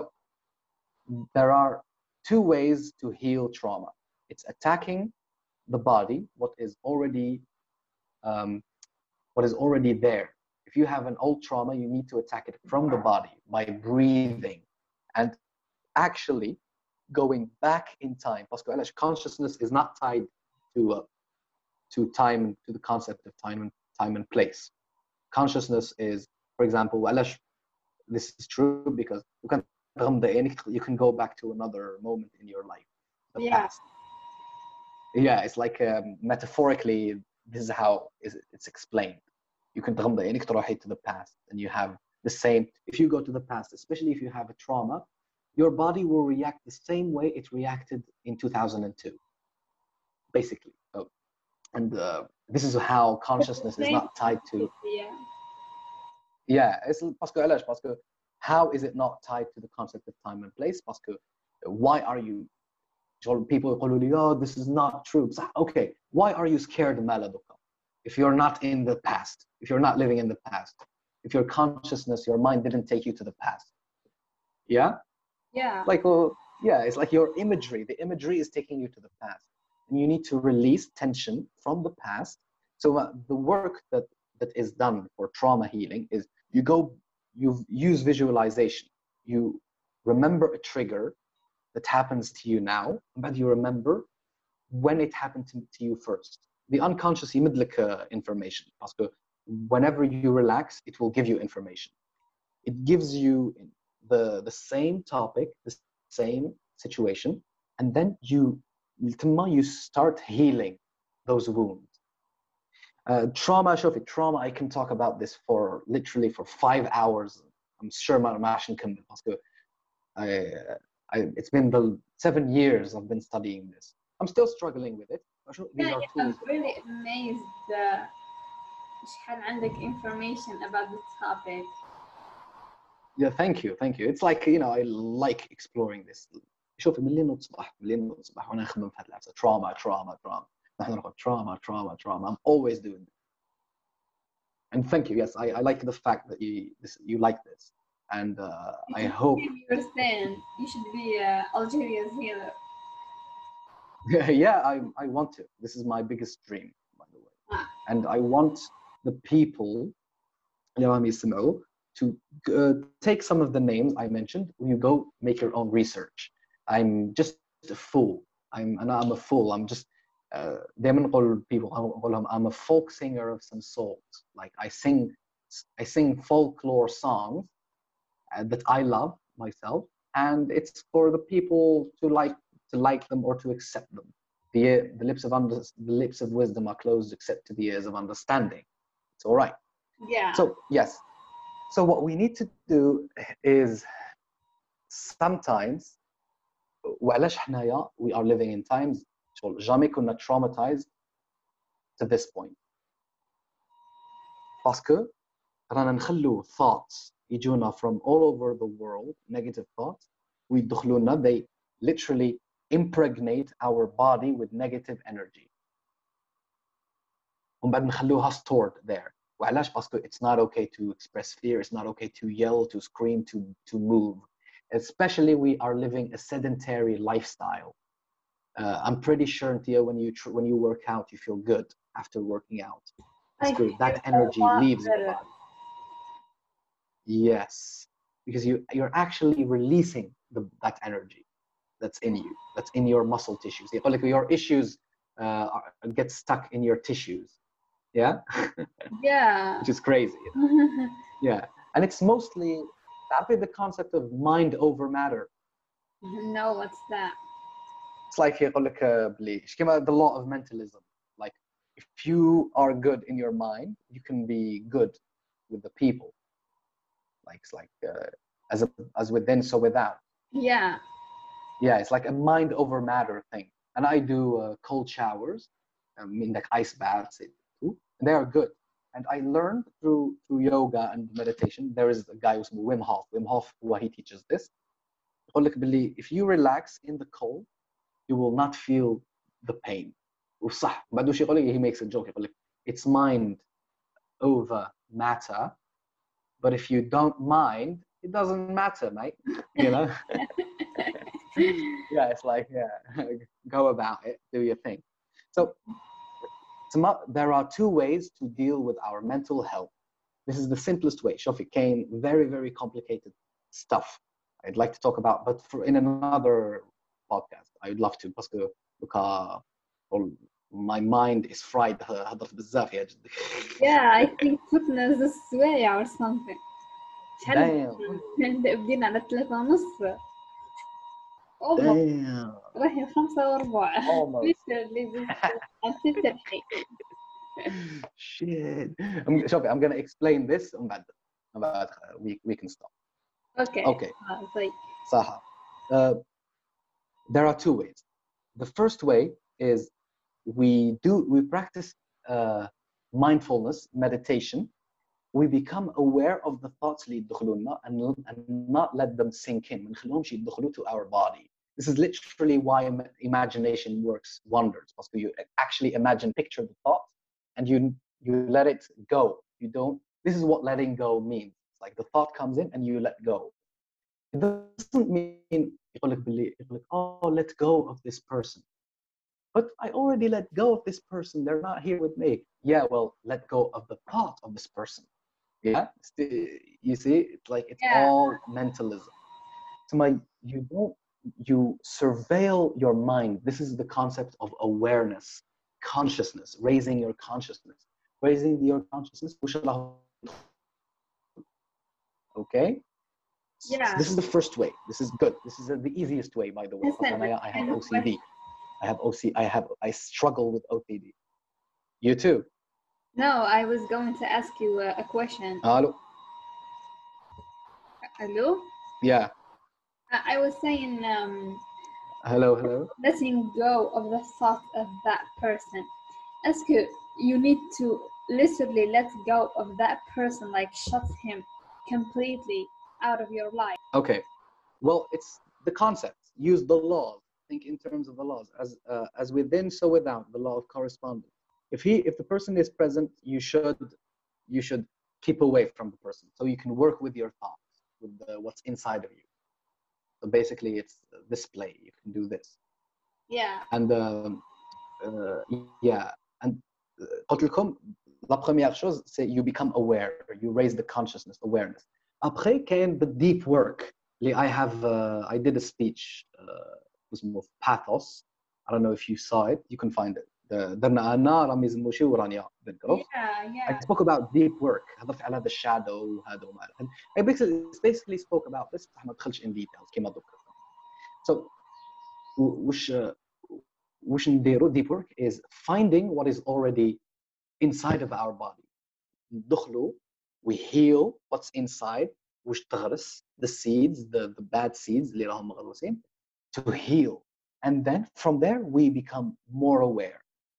there are two ways to heal trauma. It's attacking the body, what is already um, what is already there. If you have an old trauma, you need to attack it from the body by breathing and actually going back in time. Because consciousness is not tied to uh, to time, to the concept of time and time and place. Consciousness is, for example, this is true because you can you can go back to another moment in your life, the Yeah. past. Yeah, it's like um, metaphorically, this is how it's explained. You can تغمض عينيك تروحي to the past and you have the same. If you go to the past, especially if you have a trauma, your body will react the same way it reacted in two thousand two, basically. So, and uh, this is how consciousness is not tied to. Yeah. Yeah, it's parce que علاش parce que how is it not tied to the concept of time and place? Parce que why are you people يقولوا لي oh this is not true. Okay, why are you scared مالا دوكا? If you're not in the past, if you're not living in the past, if your consciousness, your mind didn't take you to the past. Yeah? Yeah. Like, well, yeah, it's like your imagery. The imagery is taking you to the past. And you need to release tension from the past. So uh, the work that, that is done for trauma healing is you go, you use visualization. You remember a trigger that happens to you now, but you remember when it happened to, to you first. The unconscious يمدلك uh, information. Because whenever you relax, it will give you information. It gives you the, the same topic, the same situation, and then you, you start healing those wounds. Uh, trauma, شوفي, trauma, I can talk about this for literally for five hours. I'm sure ما راح نكمل because I, I, it's been the seven years I've been studying this. I'm still struggling with it. These yeah, are yeah, tools. I'm really amazed uh, شحال عندك information about the topic. Yeah, thank you, thank you. It's like, you know, I like exploring this. شوفي من اللي نصبح من اللي نصبح وانا نخدم في هذا العفسه trauma trauma trauma نحن نقول trauma trauma trauma. I'm always doing this. And thank you. Yes, I, I like the fact that you this, you like this, and uh, I hope. You understand. You should be uh, Algeria's healer. Yeah, I I want to. This is my biggest dream, by the way, Ah. and I want the people, to uh, take some of the names I mentioned. You go make your own research. I'm just a fool. I'm and I'm a fool. I'm just uh, دايما نقول people نقول لهم I'm a folk singer of some sort. Like I sing I sing folklore songs uh, that I love myself, and it's for the people to like to like them or to accept them. The the lips of under, the lips of wisdom are closed except to the ears of understanding. It's all right. Yeah. So yes. So what we need to do is sometimes وعلاش حنايا we are living in times شغل jamais كنا traumatized to this point. باسكو رانا نخلو thoughts يجونا from all over the world, negative thoughts, ويدخلونا, they literally impregnate our body with negative energy. ومن بعد نخلوها stored there. وعلاش؟ باسكو it's not okay to express fear, it's not okay to yell, to scream, to to move. Especially we are living a sedentary lifestyle. Uh, I'm pretty sure, Tia, when you tr- when you work out, you feel good after working out. That's good. That energy leaves your body. Yes, because you you're actually releasing the, that energy that's in you, that's in your muscle tissues. Like your issues uh, are, get stuck in your tissues. Yeah. Yeah. Which is crazy. Yeah, and it's mostly that be the concept of mind over matter. No, what's that? It's like يقول لك بلي the law of mentalism. Like if you are good in your mind, you can be good with the people. Like it's like uh, as a, as within, so without. Yeah. Yeah, it's like a mind over matter thing. And I do uh, cold showers, I mean like ice baths too, and they are good. And I learned through through yoga and meditation. There is a guy who's Wim Hof. Wim Hof, who he teaches this. يقول لك بلي if you relax in the cold, you will not feel the pain. وصح بعد وش يقول لك, he makes a joke يقول لك it's mind over matter, but if you don't mind, it doesn't matter, mate. You know. Yeah, it's like yeah, go about it, do your thing. So there are two ways to deal with our mental health. This is the simplest way. Shofi came very very complicated stuff I'd like to talk about, but for in another podcast I'd love to because uh, my mind is fried. هضرت بزاف يا جدي. Yeah, I think fitness is way or something. Damn. بدينا على ثلاثة ونص. Damn. راهي خمسة وربع. Almost. Shit. I'm, شوفي, I'm gonna explain this and بعد بعد we we can stop. Okay. Okay. Uh, صح. Uh, there are two ways. The first way is we do we practice uh, mindfulness meditation. We become aware of the thoughts اللي يدخلونا and, and not let them sink in. ما نخليهمش يدخلوا to our body. This is literally why imagination works wonders, because you actually imagine, picture the thought, and you you let it go. You don't. This is what letting go means. It's like the thought comes in and you let go. It doesn't mean يقول لك باللي يقول لك oh let go of this person. But I already let go of this person. They're not here with me. Yeah, well, let go of the thought of this person. Yeah, you see, it's like it's yeah. all mentalism. So my, you don't, you surveil your mind. This is the concept of awareness, consciousness, raising your consciousness, raising your consciousness. Okay. Yeah. So this is the first way. This is good. This is the easiest way, by the way. Listen, I have O C D. I have O C. I have. I struggle with O C D. You too. No, I was going to ask you a, a question. Hello. Hello? Yeah. I, I was saying, um, hello, hello. letting go of the thought of that person. Ask you, you need to literally let go of that person, like shut him completely out of your life? Okay. Well, it's the concepts. Use the laws. Think in terms of the laws. As uh, as within, so without. The law of correspondence. If he, if the person is present, you should, you should keep away from the person, so you can work with your thoughts, with the, what's inside of you. So basically, it's display. You can do this. Yeah. And um, uh, yeah. And uh, قلت لكم, la première chose, c'est you become aware. You raise the consciousness, awareness. Après, كاين the deep work. I have, uh, I did a speech, uh, اسمه Pathos. I don't know if you saw it. You can find it. درنا أنا رامز موشي ورانيا بنكروف. Yeah, yeah. I spoke about deep work. هضفت على هذا الشادو وهذا وما إلى. I basically, basically spoke about this. بصح ما دخلش in details كما دوك. So وش وش نديرو? Deep work is finding what is already inside of our body. ندخلو, we heal what's inside. وش تغرس, the seeds, the, the bad seeds اللي راهم مغروسين, to heal. And then from there we become more aware.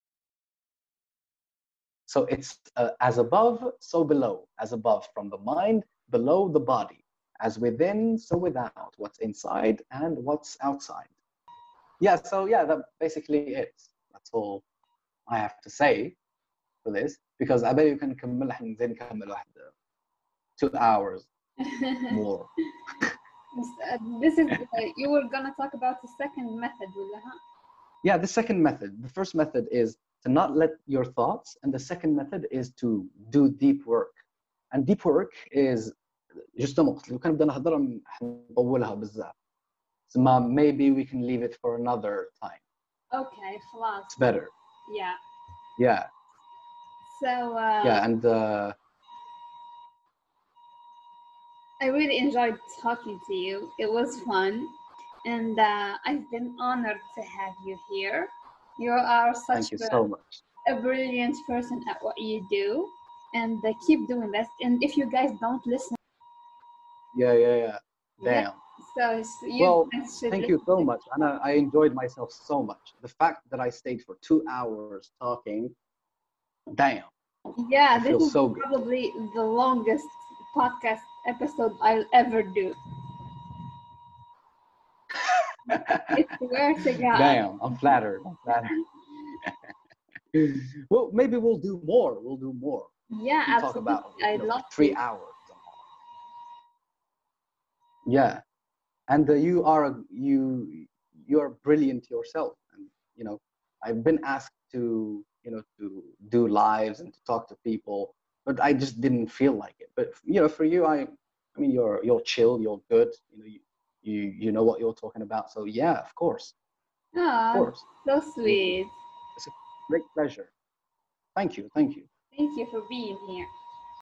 So it's uh, as above, so below. As above from the mind, below the body. As within, so without. What's inside and what's outside. Yeah, so yeah, that basically it. That's all I have to say for this. Because I bet you can نكمل, احنا نزيد نكمل واحد two hours more. This is, uh, you were gonna talk about the second method, ولا ها? Yeah, the second method. The first method is to not let your thoughts, and the second method is to do deep work. And deep work is justement, لو كان بدنا نهضر نطولها بزاف. So maybe we can leave it for another time. Okay, خلاص. It's better. Yeah. Yeah. So. Uh, yeah, and. Uh, I really enjoyed talking to you. It was fun, and uh, I've been honored to have you here. You are such Thank you a, so much. a brilliant person at what you do, and uh, keep doing this. And if you guys don't listen, yeah, yeah, yeah, damn. Yeah, so, so you well, guys thank you so much, and I, I enjoyed myself so much. The fact that I stayed for two hours talking, damn. Yeah, I this feel is so good. probably the longest podcast episode I'll ever do. I swear to God. Damn, I'm flattered. I'm flattered. Well, maybe we'll do more. We'll do more. Yeah, we'll absolutely. Talk about I'd know, love three to. hours. Yeah, and uh, you are you you are brilliant yourself, and you know I've been asked to you know to do lives and to talk to people, but I just didn't feel like it. But you know, for you, I I mean, you're you're chill, you're good. You know, you you you know what you're talking about. So yeah, of course. Oh, of course. So sweet. It's a great pleasure. Thank you. Thank you. Thank you for being here.